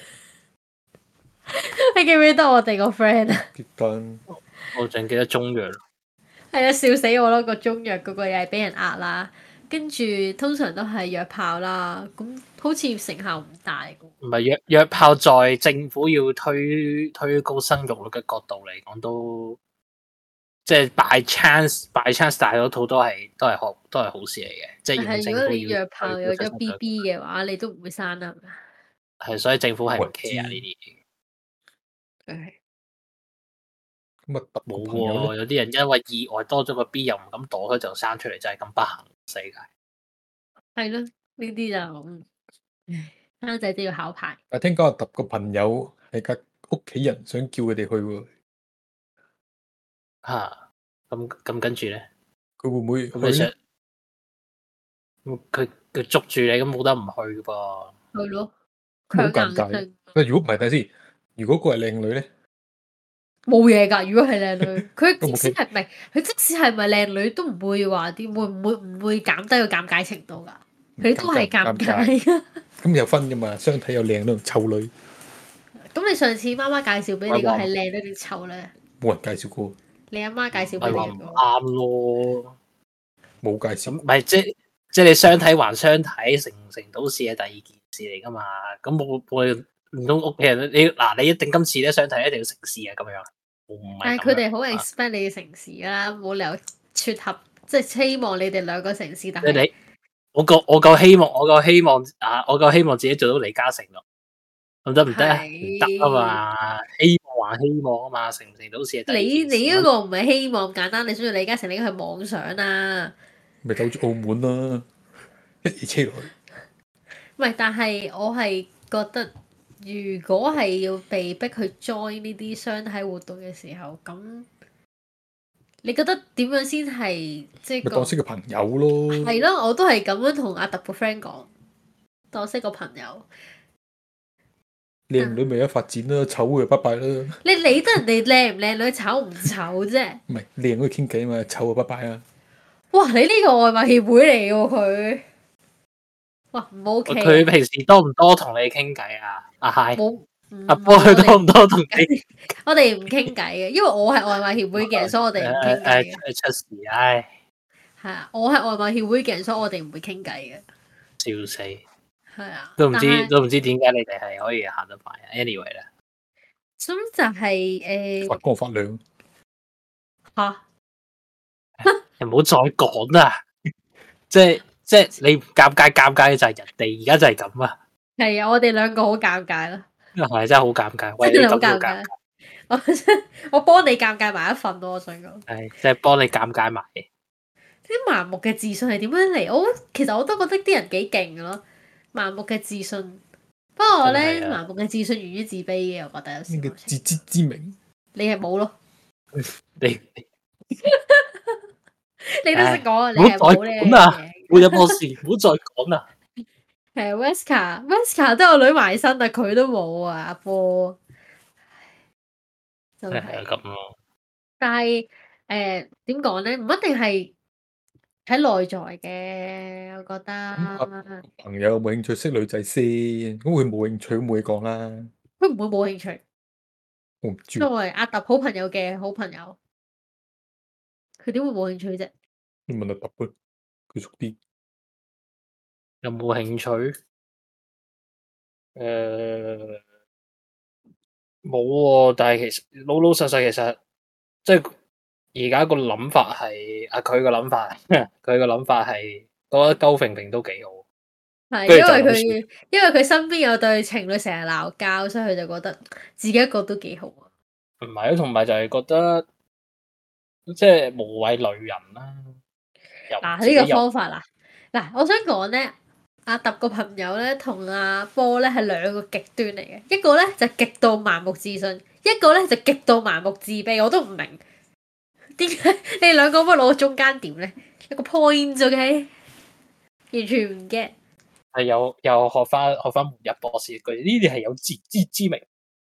你記唔記得我哋個 friend 啊？ 結單， 我淨記得中藥。 係啊，笑死我咯！個中藥嗰個又係俾人呃啦，跟住通常都係約炮啦，咁好似成效唔大。 唔係約約炮，在政府要推推高生育率嘅角度嚟講，都即係 by chance by chance 大多套都係都係好都係好事嚟嘅。即係係如果你約炮有咗 B B 嘅話，你都唔會生啦。 係，所以政府係唔 care 呢啲嘢。 係。 咁啊， 冇喎，有啲人因為意外多咗個 B 又唔敢躲開就生出嚟，就係咁不幸世界。 係咯，呢啲就生仔都要考牌。 但係聽講阿揼個朋友係隔屋企人想叫佢哋去喎。 嚇，咁咁跟住咧， 佢會唔會佢去咧？ 佢佢捉住你，咁冇得唔去噶噃。 係咯， 好尷尬。喂，如果唔係睇先，如果個係靚女咧， 冇嘢㗎。如果係靚女，佢即使係唔係，佢即使係咪靚女都唔會話啲會唔會唔會減低個尷尬程度㗎。佢都係尷尬。 咁有分㗎嘛？相睇有靚女同臭女。 咁你上次媽媽介紹俾你個係靚女定臭咧？ 冇人介紹過。 你阿媽介紹俾你個。 啱咯， 冇介紹。 唔係即即你相睇還相睇，成唔成到事係第二件事嚟㗎嘛？咁我我唔通屋企人你嗱你一定今次咧相睇一定要成事啊咁樣。 但係佢哋好 expect 你嘅成事啦，冇理由撮合，即係希望你哋兩個成事。但係你我夠我夠希望，我夠希望啊！我夠希望自己做到李嘉誠咯，咁得唔得啊？唔得啊嘛！希望還希望啊嘛，成唔成到事係第二件事。 你你嗰個唔係希望簡單，你想做李嘉誠，你應該係妄想啊！ 咪走住澳門啦，一夜車落去。 唔係，但係我係覺得，如果係要被逼去 join 呢啲相睇活動嘅時候，咁你覺得點樣先係即係咪當識個朋友咯？ 係咯，我都係咁樣同阿特個 friend 講，當識個朋友。 靚女咪有發展啦，醜就拜拜啦。 你理得人哋靚唔靚女，醜唔醜啫？ 唔係靚可以傾偈啊嘛，醜就拜拜啊。 哇！你呢個外賣協會嚟喎佢，哇唔 OK。 佢平時多唔多同你傾偈啊？阿 Hi， 冇， 阿波佢多唔多同你？ 我哋唔傾偈嘅，因為我係外賣協會嘅人，所以我哋唔傾偈嘅。 誒出事，唉！ 係啊，我係外賣協會嘅人，所以我哋唔會傾偈嘅。 笑死！ 係啊， 都唔知都唔知點解你哋係可以行得快啊 ！Anyway 咧， 咁就係誒發光發亮嚇， 你唔好再講啦！即係即係你尷尬尷尬嘅就係人哋，而家就係咁啊！ 係啊，我哋兩個好尷尬咯， 係真係好尷尬，喂， 真係好尷你咁都尷尬。我我幫你尷尬埋一份咯，我想講。 係即係幫你尷尬埋。 啲盲目嘅自信係點樣嚟？我其實我都覺得啲人幾勁嘅咯，盲目嘅自信。不過我咧，盲目嘅自信源於自卑嘅，我覺得有時。 呢個自知之明， 你係冇咯？ 你你都識講啊！你唔好再係冇呢講啦， 樣嘢。 冇任何事，唔好再講啦。 係 Wesker，Wesker 都有女埋身，但佢都冇啊！阿波，真係咁咯。 但係誒點講咧？唔一定係喺內在嘅，我覺得。 朋友有冇興趣識女仔先？咁佢冇興趣，冇嘢講啦。 佢唔會冇興趣。 我唔知。 作為阿揼好朋友嘅好朋友，佢點會冇興趣啫？ 你問阿揼佢，佢熟啲。 有冇興趣？誒冇喎，但係其實老老實實，其實即係而家個諗法係啊，佢個諗法，佢個諗法係覺得鳩揈揈都幾好。 係因為佢因為佢身邊有對情侶成日鬧交，所以佢就覺得自己一個都幾好啊。 唔係，同埋就係覺得即係無謂累人啦。 嗱呢個方法啦，嗱我想講咧，阿揼個朋友咧同阿波咧係兩個極端嚟嘅，一個咧就極度盲目自信，一個咧就極度盲目自卑，我都唔明點解你哋兩個不攞中間點咧？一個 point OK，完全唔 get。 係又又學翻學翻末日博士句，呢啲係有自知之明。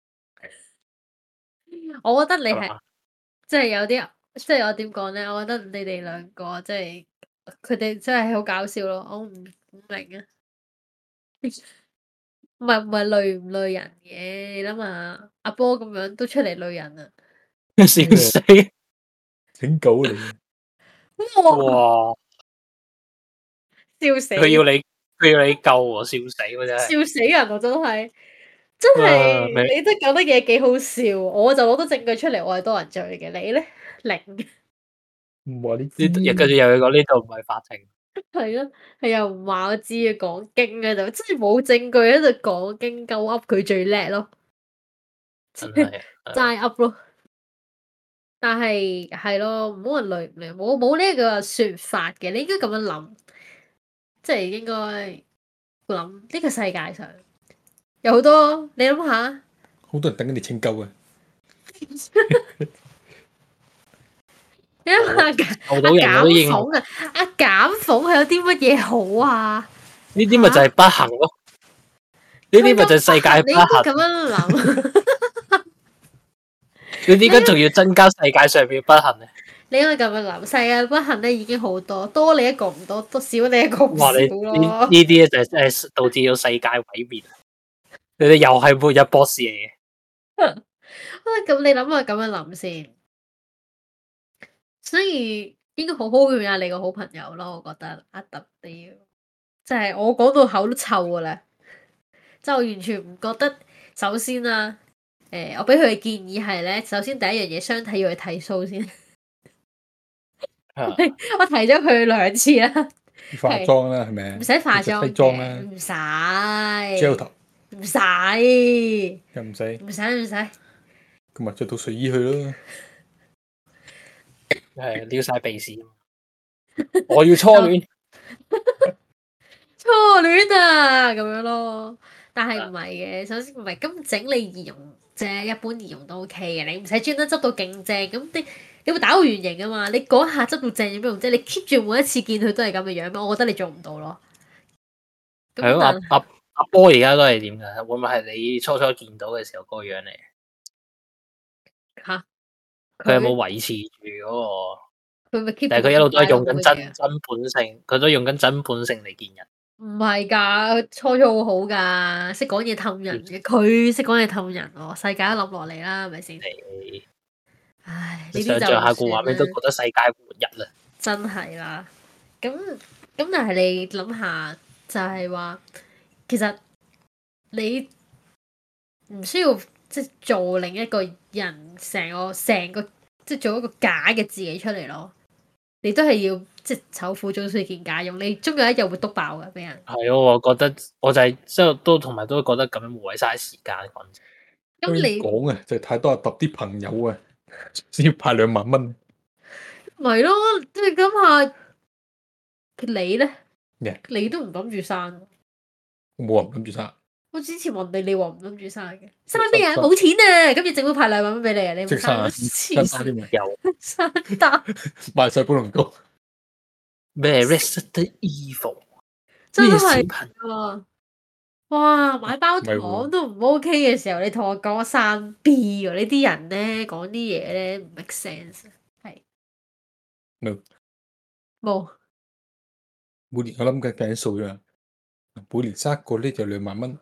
我覺得你係即係有啲，即係我點講咧？我覺得你哋兩個即係佢哋真係好搞笑咯，我唔唔明啊。唔係唔係累唔累人嘅，你諗下阿波咁樣都出嚟累人啊！ 笑死， 整狗嚟嘅。 哇！ 笑死！ 佢要你佢要你救喎，笑死喎真係。 笑死人啊！真係真係，你都講得嘢幾好笑，我就攞到證據出嚟，我係多人追嘅，你咧零。 唔話呢呢跟住又要講呢度唔係法庭。 係啊，係又唔話我知啊，講經喺度，真係冇證據喺度講經，夠噏佢最叻咯， 真係齋噏咯。但係係咯，唔好話累唔累，冇冇呢個說法嘅，你應該咁樣諗，即係應該諗呢個世界上有好多，你諗下， 好多人等緊你拯救啊！ 你諗下阿減鳳啊，阿減鳳係有啲乜嘢好啊？ 呢啲咪就係不幸咯，呢啲咪就係世界不幸。 你應該咁樣諗。 你點解仲要增加世界上面不幸咧？ 你應該咁樣諗，世界不幸咧已經好多，多你一個唔多，多少你一個唔少咯。 呢啲咧就係誒導致到世界毀滅。你哋又係末日博士嚟嘅。 咁你諗下咁樣諗先，所以應該好好勸下你個好朋友咯。我覺得阿特啲，即係我講到口都臭噶啦，即係我完全唔覺得。首先啦。誒、欸，我俾佢嘅建議係咧，首先第一樣嘢，相睇要去剃鬚先。 啊、 我提咗佢兩次啦。 化妝啦，係咪？ 唔使化妝西裝啦， 唔使。 gel 頭唔使。 又唔使。 唔使唔使。 咁咪着到睡衣去咯。 係撩晒鼻屎。我要初戀。 初戀啊，咁樣咯。但係唔係嘅，首先唔係咁整理儀容。啫，一般儀容都 OK 嘅，你唔使專登執到勁正，咁你你會打個圓形啊嘛，你嗰下執到正有咩用啫？你 keep 住每一次見佢都係咁嘅樣咩？我覺得你做唔到咯。 係咯，阿阿阿波而家都係點㗎？會唔會係你初初見到嘅時候嗰個樣嚟？ 嚇！ 佢有冇維持住嗰個佢咪 keep， 但係佢一路都係用緊真真本性，佢都用緊真本性嚟見人。 唔係㗎，初初好好㗎，識講嘢氹人嘅，佢識講嘢氹人喎，世界都冧落嚟啦，係咪先？唉，呢啲就想像下個畫面都覺得世界末日啦。 真係啦，咁咁但係你諗下，就係話其實你唔需要即係做另一個人，成個成個即係做一個假嘅自己出嚟咯。你都係要即係醜婦終須見家用，你終有一日會篤爆嘅俾人。 係咯，我覺得我就係即係都同埋都覺得咁樣無謂嘥時間講真。 咁你講啊，就係太多人揼啲朋友啊，先要派兩萬蚊。 咪咯，即係諗下你咧 ，yeah. 你都唔諗住生。 我冇話唔諗住生。 我之前問你，你話唔諗住生嘅，生咩啊？冇錢啊！今日政府派兩萬蚊俾你啊，你唔生？ 生生啲咩？ 有生單賣晒寶龍糕。 咩 Resident Evil？ 真係啊！哇，買包糖都唔 OK 嘅時候，你同我講生 B 喎？呢啲人咧講啲嘢咧唔 make sense， 係冇冇。 每年我諗緊計數啫，每年生一個呢就兩萬蚊。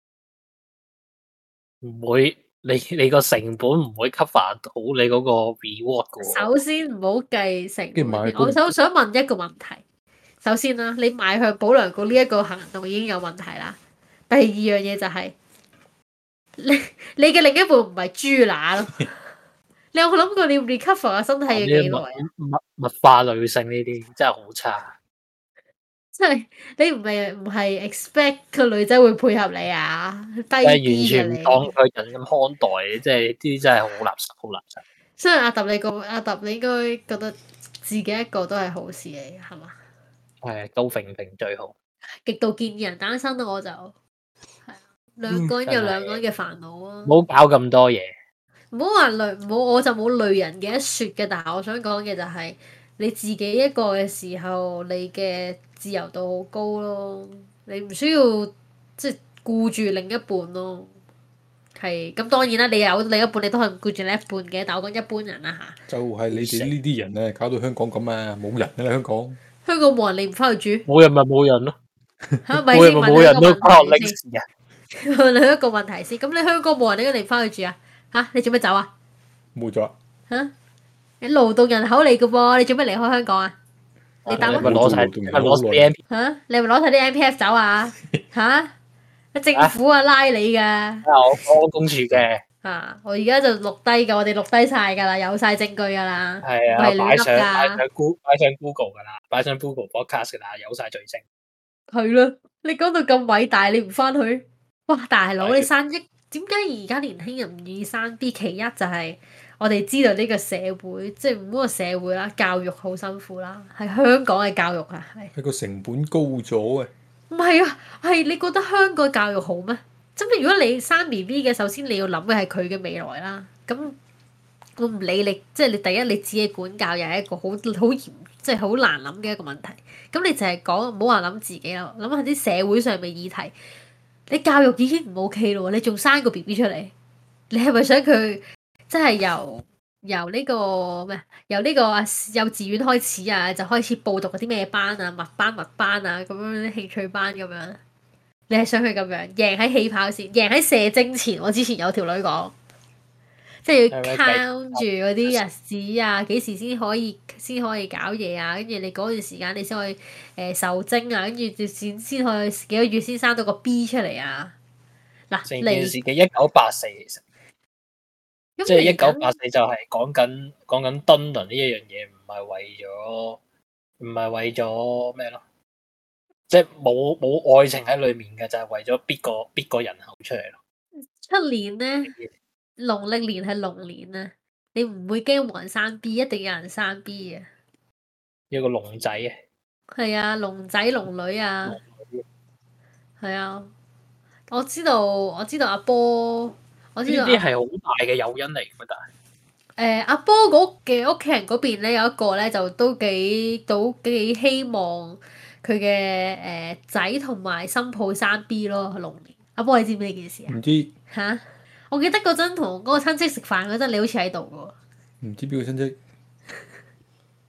唔會，你你個成本唔會 cover 到你嗰個 reward 嘅喎。 首先唔好計成本， 買我想想問一個問題。首先啦，你買向保良局呢一個行動已經有問題啦。第二樣嘢就係、是、你你嘅另一半唔係豬乸咯。你有冇諗過你要 recover 嘅身體要幾耐啊？ 物物化女性呢啲真係好差。 即係你唔係唔係 expect 個女仔會配合你啊？低係完全唔當佢人咁看待，即係呢啲真係好垃圾，好垃圾。 所以阿揼你個阿揼，你應該覺得自己一個都係好事嚟，係嘛？ 係高揈揈最好。 極度建議人單身咯，我就係啊，兩個人有兩個人嘅煩惱啊。 唔好搞咁多嘢。 唔好話累，唔好我就冇累人嘅一説嘅。但係我想講嘅就係、是、你自己一個嘅時候，你嘅自由度好高咯。你唔需要即係顧住另一半咯。係咁當然啦，你有另一半，你都可以顧住另一半嘅。但我講一般人啦嚇。 就係你哋呢啲人咧，搞到香港咁啊，冇人啊香港。 香港冇人，你唔翻去住？ 冇人咪冇人咯。 嚇，咪先問冇人都翻學歷史啊！ 問你一個問題先。咁你香港冇人，點解你唔翻去住啊？嚇，你做咩走啊？ 冇咗。 嚇！你勞動人口嚟嘅噃，你做咩離開香港啊？你答乜？ 咪攞曬，咪攞曬 M P F 嚇！你係咪攞曬啲 M P F 走啊？嚇！政府啊拉你㗎。 啊！我講公署嘅。 啊！我而家就錄低㗎，我哋錄低曬㗎啦，有曬證據㗎啦。 係啊，擺上擺上 Google 擺上 Google 㗎啦，擺上 Google Podcast 㗎啦，有曬罪證。 係咯，你講到咁偉大，你唔翻去？哇！大佬，你生一點解而家年輕人唔願意生 B？其一就係我哋知道呢個社會，即係唔好話社會啦，教育好辛苦啦，係香港嘅教育啊，係。 係個成本高咗啊！ 唔係啊，係你覺得香港教育好咩？真係如果你生 B B 嘅，首先你要諗嘅係佢嘅未來啦。咁我唔理你，即係你第一你自己管教又係一個好好嚴，即係好難諗嘅一個問題。咁你就係講唔好話諗自己啦，諗下啲社會上面議題。你教育已經唔 OK 咯，你仲生個 B B 出嚟，你係咪想佢即係由由呢個咩？由呢個幼稚園開始啊，就開始報讀嗰啲咩班啊、物班、物班啊咁樣啲興趣班咁樣？你係想佢咁樣贏喺起跑線，贏喺射精前？我之前有條女講，即係要 count 住嗰啲日子啊，幾時先可以先可以搞嘢啊？跟住你嗰段時間你先可以誒、呃、受精啊，跟住先先可以幾個月先生到個 B 出嚟啊！嗱， 成件事嘅一九八四其實，即係一九八四就係講緊講緊敦倫呢一樣嘢，唔係為咗唔係為咗咩咯？即係冇冇愛情喺裏面嘅，就係、是、為咗逼個逼個人口出嚟咯。 出年咧，農曆年係龍年啊！你唔會驚冇人生 B，一定有人生 B 啊！ 有個龍仔啊！ 係啊，龍仔龍女啊！係啊，我知道我知道阿波，我知道呢啲係好大嘅誘因嚟嘅，但係誒阿波嗰嘅屋企人嗰邊咧有一個咧就都幾都幾希望佢嘅誒仔同埋新抱生 B 咯，龍年。阿波你知唔知呢件事啊？ 唔知嚇！我記得嗰陣同嗰個親戚食飯嗰陣，你好似喺度嘅喎。 唔知邊個親戚？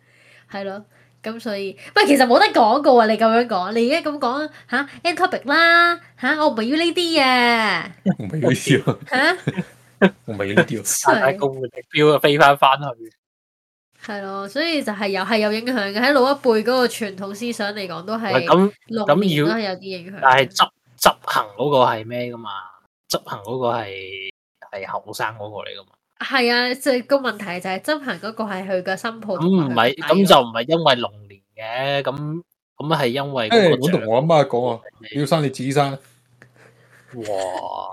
係咯。咁所以，喂，其實冇得講噶喎！你咁樣講，你而家咁講嚇 end topic 啦嚇，我唔係要呢啲嘅， 唔係要呢啲喎嚇， 唔係要呢啲喎， 大家公嘅目標啊，飛翻翻去。 係咯，所以就係有係有影響嘅。喺老一輩嗰個傳統思想嚟講，都係咁龍年都係有啲影響。 但係執執行嗰個係咩噶嘛？執行嗰個係係後生嗰個嚟噶嘛？ 係啊，即係個問題就係執行嗰個係佢嘅新抱。 咁唔係，咁就唔係因為龍年嘅，咁咁係因為嗰個。 我同我阿媽講啊，你要生你自己生。 哇！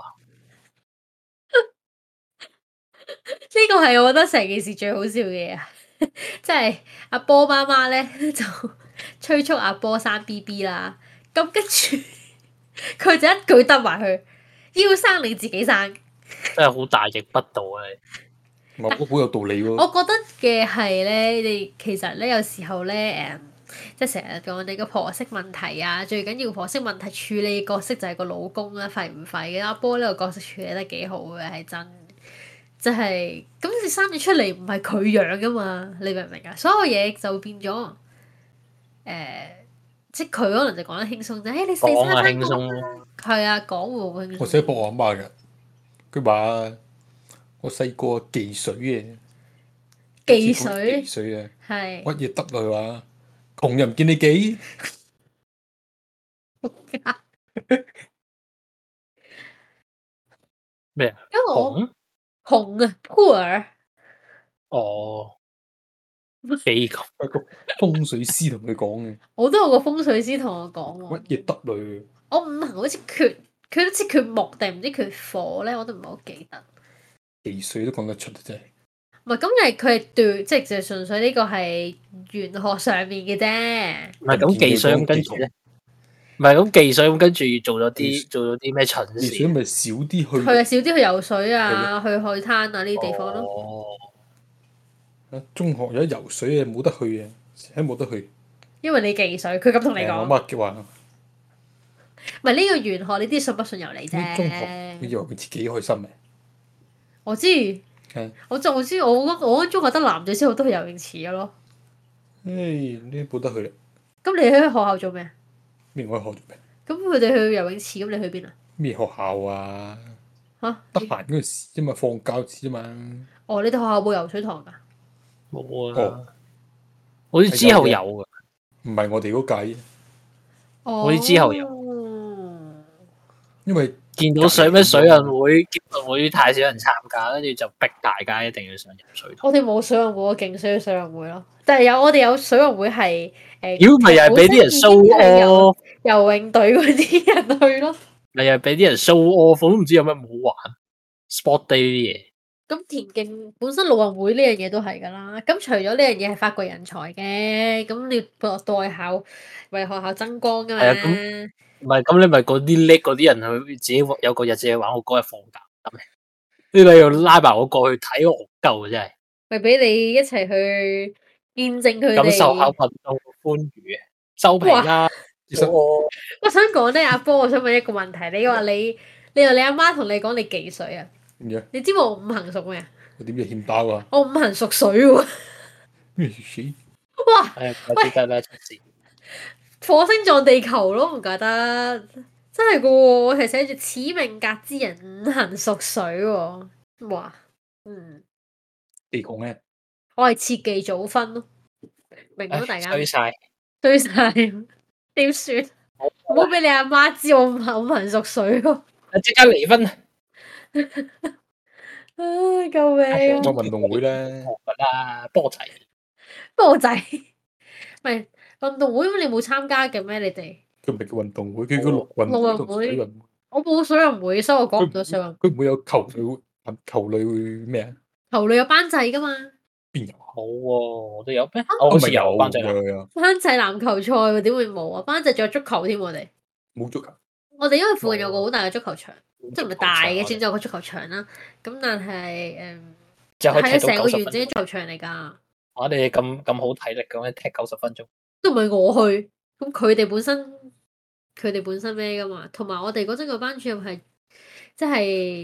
呢個係我覺得成件事最好笑嘅嘢啊！即係阿波媽媽咧就催促阿波生 B B 啦，咁跟住佢就一句得埋去，要生你自己生。 真係好大逆不道啊！ 唔係，好有道理喎。 我覺得嘅係咧，你其實咧有時候咧誒，即係成日講你個婆媳問題啊，最緊要婆媳問題處理角色就係個老公啦，廢唔廢嘅？阿波呢個角色處理得幾好嘅，係真。即係咁，你生咗出嚟唔係佢養噶嘛？你明唔明啊？所有嘢就變咗誒、呃，即係佢可能就講得輕鬆啫。誒、欸，你死生輕鬆係啊，講會輕鬆。 我成日駁我阿媽㗎，佢話我細個忌水嘅， 忌水忌水啊， 係乜嘢得來話窮人唔見你忌。 咩啊？ 因為我紅紅啊 poor 哦，幾窮一個風水師同佢講嘅， 我都有個風水師同我講喎。 乜嘢得來？ 我五行好似缺，佢好似缺木定唔知缺火咧，我都唔係好記得。 忌水都講得出啊！真係。 唔係咁，係佢係對，即係就純粹呢個係玄學上面嘅啫。 唔係咁忌水咁跟住咧，唔係咁忌水咁跟住做咗啲做咗啲咩蠢事？ 忌水咪少啲去。 佢係少啲去游水啊，去海灘啊呢啲地方咯。 哦。 中學有得游水嘅冇得去嘅，成日冇得去。 因為你忌水，佢咁同你講。 我媽叫話。 唔係呢個玄學，呢啲信不信由你啫。 中學，佢以為佢自己開心嘅。 我知。我就知，我我中學得男仔先好多去游泳池嘅咯。 誒，呢啲冇得去啦。 咁你喺學校做咩？ 咩我喺學做咩？ 咁佢哋去游泳池，咁你去邊啊？ 咩學校啊？ 嚇！ 得閒嗰陣時啫嘛，放假時啫嘛。 哦，你哋學校冇游水堂㗎？ 冇啊。好似之後有㗎。 唔係我哋嗰屆。 哦。 好似之後有。 因為見到水咩水運會，見到會太少人參加，跟住就逼大家一定要上游水堂。 我哋冇水運會，我勁需要水運會咯。但係有我哋有水運會係誒。 妖咪又係俾啲人 show off 游泳隊嗰啲人去咯。 咪又係俾啲人 show off，我都唔知有咩唔好玩。sport day 啲嘢。 咁田徑本身陸運會呢樣嘢都係㗎啦。咁除咗呢樣嘢係發掘人才嘅，咁你代校為學校增光㗎嘛。 係啊，咁唔係咁你咪嗰啲叻嗰啲人去自己有個日子去玩，我嗰日放假咁嘅。呢你又拉埋我過去睇我鳩真係。 咪俾你一齊去見證佢哋。 感受下運動歡愉嘅收皮啦。 其實我我想講咧，阿波，我想問一個問題。你話你你話你阿媽同你講你忌水啊？你知我五行屬咩啊？ 我點知欠包啊？ 我五行屬水喎。 咩水？ 哇！ 係唔知咩出事？ 火星撞地球咯，唔怪得，真係噶喎！我係寫住此命格之人五行屬水喎。哇，嗯。 地講咩？ 我係切忌早婚咯，明唔明大家？ 衰晒， 衰晒，點算？唔好俾你阿媽知我五行五行屬水喎。 即刻離婚啊！ 唉，救命！ 我運動會咧， 啊，波仔， 波仔，唔係運動會，咁你冇參加嘅咩？你哋佢唔係叫運動會，佢叫陸運陸運會。我冇水運會，所以我講唔到水運。 佢唔會有球類，球類咩啊？ 球類有班制噶嘛？ 邊有？ 冇喎，我哋有咩？我好似有班制籃。 班制籃球賽喎，點會冇啊？班制仲有足球添，我哋冇足球。 我哋因為附近有個好大嘅足球場，即係唔係大嘅，先至有個足球場啦。咁但係誒，係啊，成個完整嘅足球場嚟㗎。 我哋咁咁好體力咁樣踢九十分鐘， 都唔係我去，咁佢哋本身佢哋本身咩㗎嘛？同埋我哋嗰陣個班主任係即係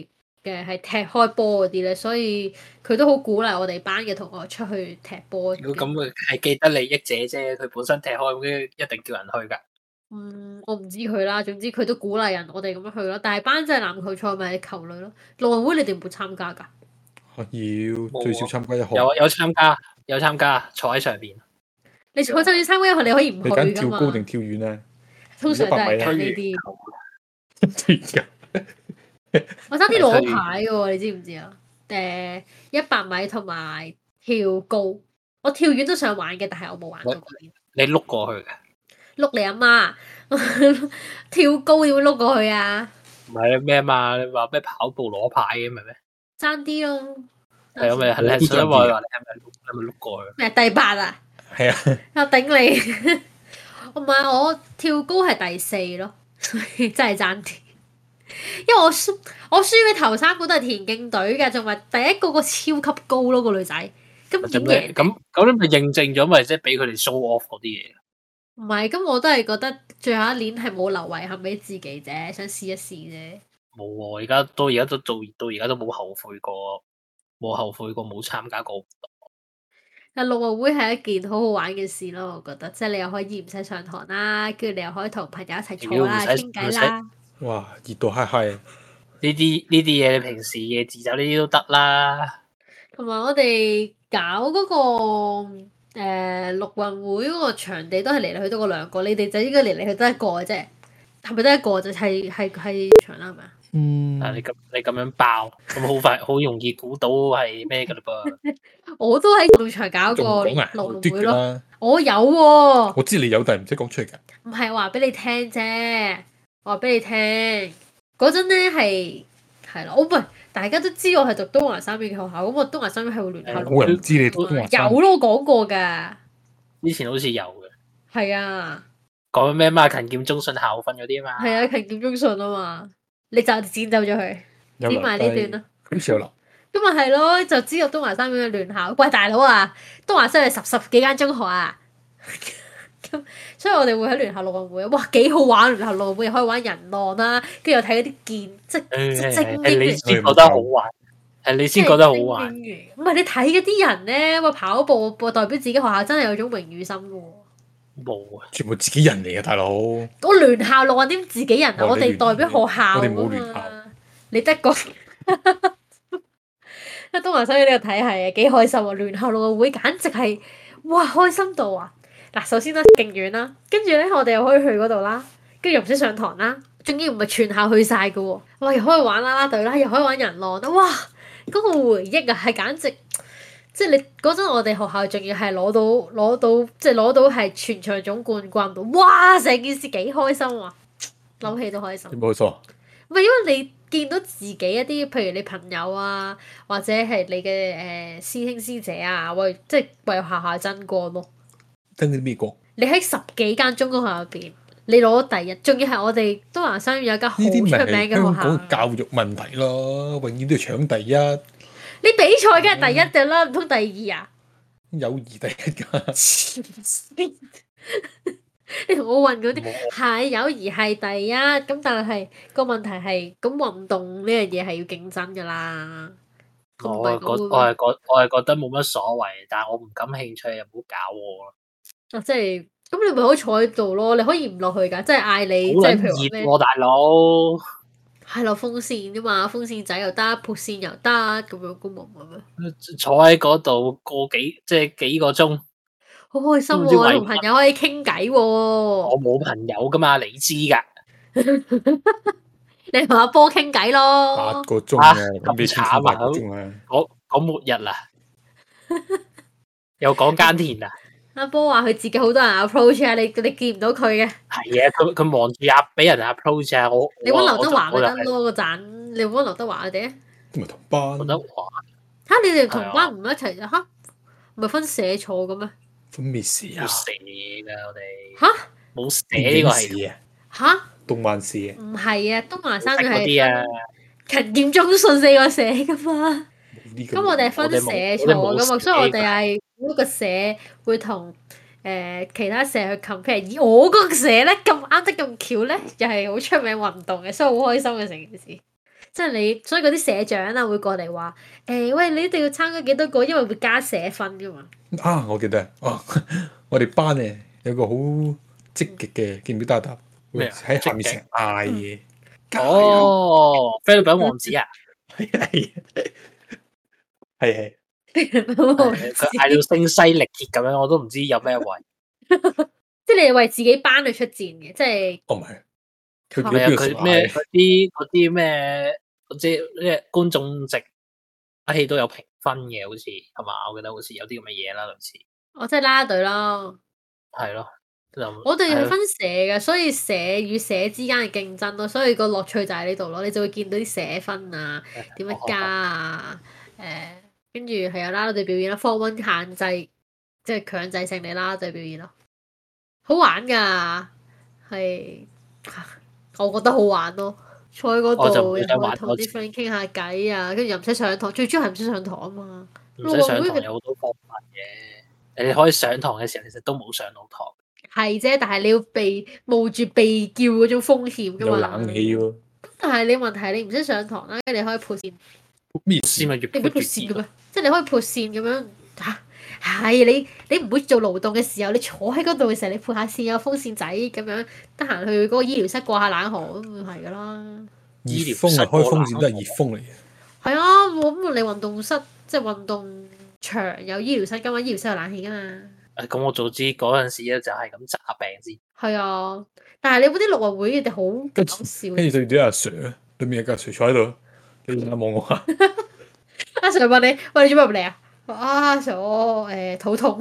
嘅，係踢開波嗰啲咧，所以佢都好鼓勵我哋班嘅同學出去踢波。 如果咁佢係既得利益者啫，佢本身踢開咁一定叫人去㗎。 嗯，我唔知佢啦，總之佢都鼓勵人我哋咁樣去咯。但係班際籃球賽咪係球類咯，陸運會你哋唔會參加㗎？ 要最少參加一項。 有有參加，有參加，坐喺上邊。 你坐就算參加一項，你可以唔去㗎嘛？ 你揀跳高定跳遠咧？ 通常都係揀呢啲。我差啲攞牌嘅喎，你知唔知啊？誒，一百米同埋跳高，我跳遠都想玩嘅，但係我冇玩過。 你碌過去嘅？ 碌你阿媽，跳高點會碌過去啊？ 唔係咩嘛？你話咩跑步攞牌嘅咪咩？ 爭啲咯。 係啊，咪係你想話你係咪係咪碌過去？ 咩第八啊？ 係啊。 我頂你！唔係我跳高係第四咯，所以真係爭啲。因為我輸我輸嘅頭三個都係田徑隊嘅，仲係第一個個超級高咯個女仔。咁點贏？ 咁咁你咪認證咗咪即係俾佢哋 show off 嗰啲嘢？ 唔係，咁我都係覺得最後一年係冇留遺憾俾自己啫，想試一試啫。 冇喎，而家都而家都做到而家都冇後悔過，冇後悔過冇參加過活動。 但陸運會係一件好好玩嘅事咯，我覺得，即係你又可以唔使上堂啦，跟住你又可以同朋友一齊坐啦、傾偈啦。 哇！熱到嗨嗨！ 呢啲呢啲嘢，你平時嘅自習呢啲都得啦。 同埋我哋搞嗰、嗰個誒陸運會嗰個場地都係嚟嚟去都嗰兩個，你哋就應該嚟嚟去都一個嘅啫，係咪得一個就係係係場啦？係咪啊？ 嗯。 啊！你咁你咁樣爆，咁好快好容易估到係咩㗎嘞噃？ 我都喺運動場搞過陸運會咯。我有喎、啊。 我知你有，但係唔識講出嚟㗎。 唔係話俾你聽啫，我話俾你聽嗰陣咧係係咯，我唔係大家都知我係讀東華三院嘅學校，咁我東華三院係會聯校。 冇人知你讀東華三院。 有咯，我講過㗎。 以前好似有嘅。係啊。 講咩嘛？勤儉忠信校訓嗰啲啊嘛。 係啊，勤儉忠信啊嘛。你就剪走咗佢，剪埋呢段啦。 好似有留。 咁咪係咯，就知道東華三院嘅聯校。喂，大佬啊，東華三院係十十幾間中學啊。咁所以我哋會喺聯校陸運會，哇幾好玩！聯校陸運會又可以玩人浪啦，跟住又睇嗰啲劍，即即精英嘅。 係你先覺得好玩，係你先覺得好玩。 唔係你睇嗰啲人咧，喂跑步代表自己學校，真係有種榮譽心嘅喎。 冇啊！ 全部自己人嚟嘅大佬。 我聯校陸運點自己人啊？我哋代表學校。 我哋冇聯校。 你得個。喺東華三院呢個體系啊，幾開心啊！聯校陸運會簡直係哇開心到啊！嗱，首先咧勁遠啦，跟住咧我哋又可以去嗰度啦，跟住又唔使上堂啦，仲要唔係全校去晒嘅喎，哇！又可以玩啦啦隊啦，又可以玩人浪啦，哇！嗰個回憶啊，係簡直即係你嗰陣我哋學校仲要係攞到攞到即係攞到係全場總冠軍喎，哇！成件事幾開心啊，諗起都開心。 冇錯。 唔係因為你見到自己一啲，譬如你朋友啊，或者係你嘅誒、呃、師兄師姐啊，為即係為學校爭光咯。 爭啲咩國？ 你喺十幾間中學入邊，你攞第一，仲要係我哋東華三院有間好出名嘅學校。 香港教育問題咯，永遠都要搶第一。 你比賽梗係第一嘅啦，唔通第二啊？ 友誼第一㗎。 你同我問嗰啲係友誼係第一，咁但係個問題係，咁運動呢樣嘢係要競爭㗎啦。 我係覺我係覺我係覺得冇乜所謂，但係我唔感興趣，又唔好搞我咯。 啊，即係咁，你咪可以坐喺度咯，你可以唔落去㗎，即係嗌你，即係譬如咩？ 熱喎，大佬。 係落風扇啫嘛，風扇仔又得，撥扇又得，咁樣咁冇乜咩？ 坐喺嗰度個幾即係幾個鐘。 好開心喎！同朋友可以傾偈喎。我冇朋友噶嘛，你知㗎。 你同阿波傾偈咯。 八個鐘啊， 咁慘啊！講講末日啦，又講耕田啊。 阿波話佢自己好多人 approach 啊，你你見唔到佢嘅。 係啊，佢佢望住阿俾人 approach 啊，我你揾劉德華咪得咯，嗰陣你揾劉德華佢哋啊。 唔係同班。 劉德華嚇！你哋同班唔一齊啊？嚇！唔係分社坐嘅咩？ 分咩事啊？ 冇社㗎，我哋嚇冇社呢個係啊嚇動漫社啊？ 唔係啊，東華三院係啲啊， 勤儉忠信四個社㗎嘛。咁我哋係分社坐㗎嘛，所以我哋係每個社會同誒其他社去 compare。而我嗰個社咧咁啱得咁巧咧，又係好出名運動嘅，所以好開心嘅成件事。 即係你，所以嗰啲社長啊會過嚟話，誒喂，你一定要參加幾多個，因為會加社分噶嘛。 啊，我記得啊，我哋班咧有個好積極嘅，記唔記得啊？ 咩啊？ 喺下面成日嗌嘢。 哦，菲律賓王子啊， 係係係係。 佢嗌到聲嘶力竭咁樣，我都唔知有咩位。 即係你係為自己班去出戰嘅，即係。 哦，唔係。佢係啊，佢咩嗰啲嗰啲咩，即係咩觀眾席一戲都有評分嘅，好似係嘛？我記得好似有啲咁嘅嘢啦，類似。 哦，即係啦啦隊咯。 係咯。 我哋係分社嘅，所以社與社之間嘅競爭咯，所以個樂趣就喺呢度咯。你就會見到啲社分啊，點樣加啊，誒，跟住係有啦啦隊表演啦 ，form one 限制，即係強制性你啦啦隊表演咯，好玩㗎，係。我覺得好玩咯，坐喺嗰度又可以同啲 friend 傾下偈啊，跟住又唔使上堂，最主要係唔使上堂啊嘛。 唔使上堂有好多方法嘅，你可以上堂嘅時候其實都冇上到堂。 係啫，但係你要被冒住被叫嗰種風險噶嘛。 有冷氣喎。 但係你問題你唔使上堂啦，跟住你可以撥線。 咩線咪越撥越線嘅咩？即係你可以撥線咁樣嚇。係你你唔會做勞動嘅時候，你坐喺嗰度嘅時候，你撥下線有風扇仔咁樣，得閒去嗰個醫療室過下冷河咁係噶啦。 醫療風啊，開風扇都係熱風嚟嘅。 係啊，咁你運動室即係運動場有醫療室噶嘛，醫療室有冷氣噶嘛。 誒，咁我早知嗰陣時咧就係咁詐病先。 係啊，但係你嗰啲陸運會你哋好搞笑。 跟住對住啲阿 Sir 啊，對面有個阿 Sir 坐喺度，你望我下。 阿 Sir 問你：喂，你做咩入嚟啊？阿 Sir 我誒肚痛。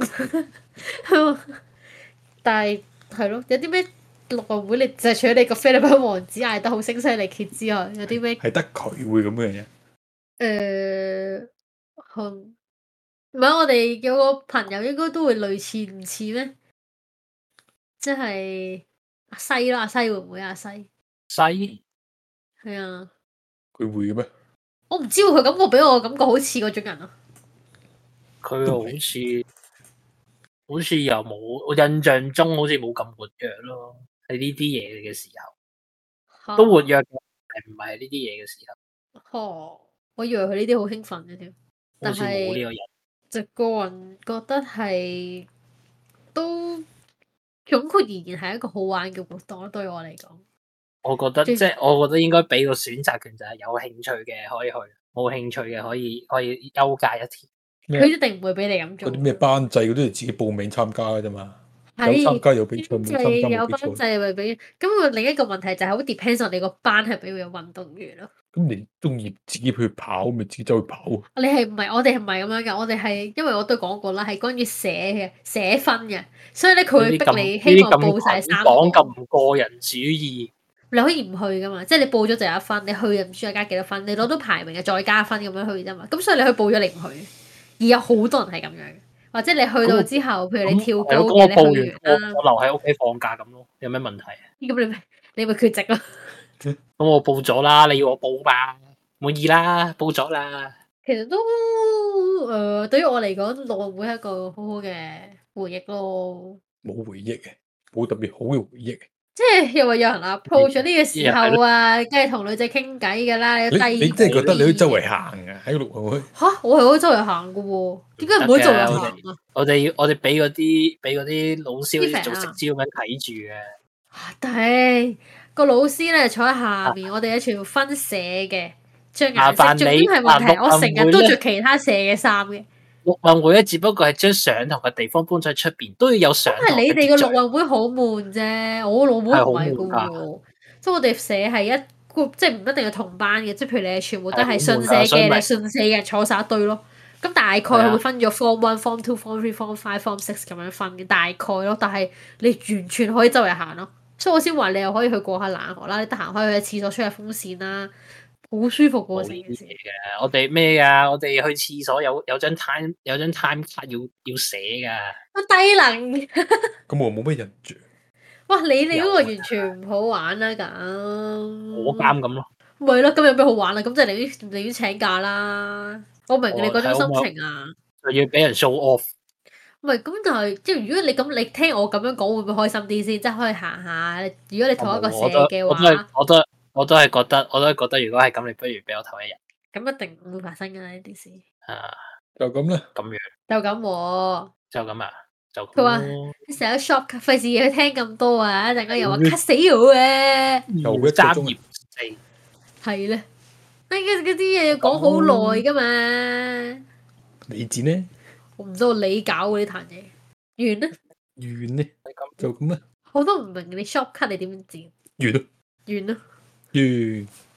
但係係咯，有啲咩陸運會你就係除咗你個菲律賓王子嗌得好聲嘶力竭之外，有啲咩？ 係得佢會咁嘅嘢。 誒，哼。唔係，我哋有個朋友應該都會類似，唔似咩？即係阿西啦，阿西會唔會阿西？ 西係啊。 佢會嘅咩？ 我唔知喎，佢感覺俾我感覺好似嗰種人啊。 佢好似好似又冇，我印象中好似冇咁活躍咯。喺呢啲嘢嘅時候，都活躍嘅，係唔係呢啲嘢嘅時候？ 哦，我以為佢呢啲好興奮嘅添，但係冇呢個人。 就個人覺得係都總括而言係一個好玩嘅活動咯，對我嚟講。 我覺得即係我覺得應該俾個選擇權，就係有興趣嘅可以去，冇興趣嘅可以可以休假一天。 佢一定唔會俾你咁做。 嗰啲咩班制嗰啲係自己報名參加嘅啫嘛。 有參加有比賽，冇參加冇比賽。 有班制咪俾，咁另一個問題就係好 depends on 你個班係咪會有運動員咯。 咁你中意自己去跑，咪自己走去跑。 你係唔係？我哋係唔係咁樣㗎？我哋係因為我都講過啦，係關於社嘅社分嘅，所以咧佢會逼你希望報晒三個。 講咁個人主義， 你可以唔去噶嘛？即係你報咗就有一分，你去又唔知再加幾多分，你攞到排名就再加分咁樣去啫嘛。咁所以你去報咗你唔去，而有好多人係咁樣嘅，或者你去到之後，譬如你跳高嘅，你去完啦， 我留喺屋企放假咁咯，有咩問題啊？ 咁你你咪缺席咯。 咁我報咗啦，你要我報吧？滿意啦，報咗啦。 其實都誒、呃，對於我嚟講，陸運會係一個好好嘅回憶咯。 冇回憶嘅，冇特別好嘅回憶。 即係又話有人 approach 咗呢個時候啊，梗係同女仔傾偈噶啦。 你你真係覺得你可以周圍行嘅喺陸運會？ 嚇！我係可以周圍行嘅喎，點解唔可以周圍行啊？ 我哋要我哋俾嗰啲俾嗰啲老師好似做食招咁樣睇住嘅。 但係個老師咧坐喺下面，我哋係全部分社嘅，着顏色。重點係問題，我成日都着其他社嘅衫嘅。 陸運會咧，只不過係將上堂嘅地方搬咗喺出邊，都要有上堂。 係你哋個陸運會好悶啫，我老母唔係噶喎。即係我哋社係一 group，即係唔一定係同班嘅，即係譬如你係全部都係信社嘅，你係信社嘅坐晒一堆咯。咁大概佢會分咗 form one、form two、form three、form five、form six 咁樣分嘅，大概咯。但係你完全可以周圍行咯，所以我先話你又可以去過下冷河啦，你得閒可以去廁所吹下風扇啦。好舒服喎！成件事嘅， 我哋咩噶？我哋去廁所有有張 time 有張 time 卡要要寫噶。 我低能。 咁我冇乜印象。 哇！你哋嗰個完全唔好玩啦咁。 我監咁咯。 咪咯，咁有咩好玩啊？咁即係你寧願請假啦。我明你嗰種心情啊。 就要俾人 show off。 唔係咁，但係即係如果你咁，你聽我咁樣講，會唔會開心啲先？即係可以行下。如果你同一個社嘅話， 我都我都我都係覺得，我都係覺得，如果係咁，你不如俾我唞一日。 咁一定唔會發生㗎啦呢啲事。 啊， 就咁啦。 咁樣。 就咁喎。 就咁啊？就咁。 佢話：你成日 shop，費事要聽咁多啊！一陣間又話 cut 死我啊！ 又一個三鐘。 頁四。 係咧。哎，嗰嗰啲嘢要講好耐㗎嘛。 你剪呢？ 我唔知我你搞嗰啲壇嘢。完啦。 完呢？就咁啦。 我都唔明你 shop cut 你點剪。 完咯。 完咯。 完。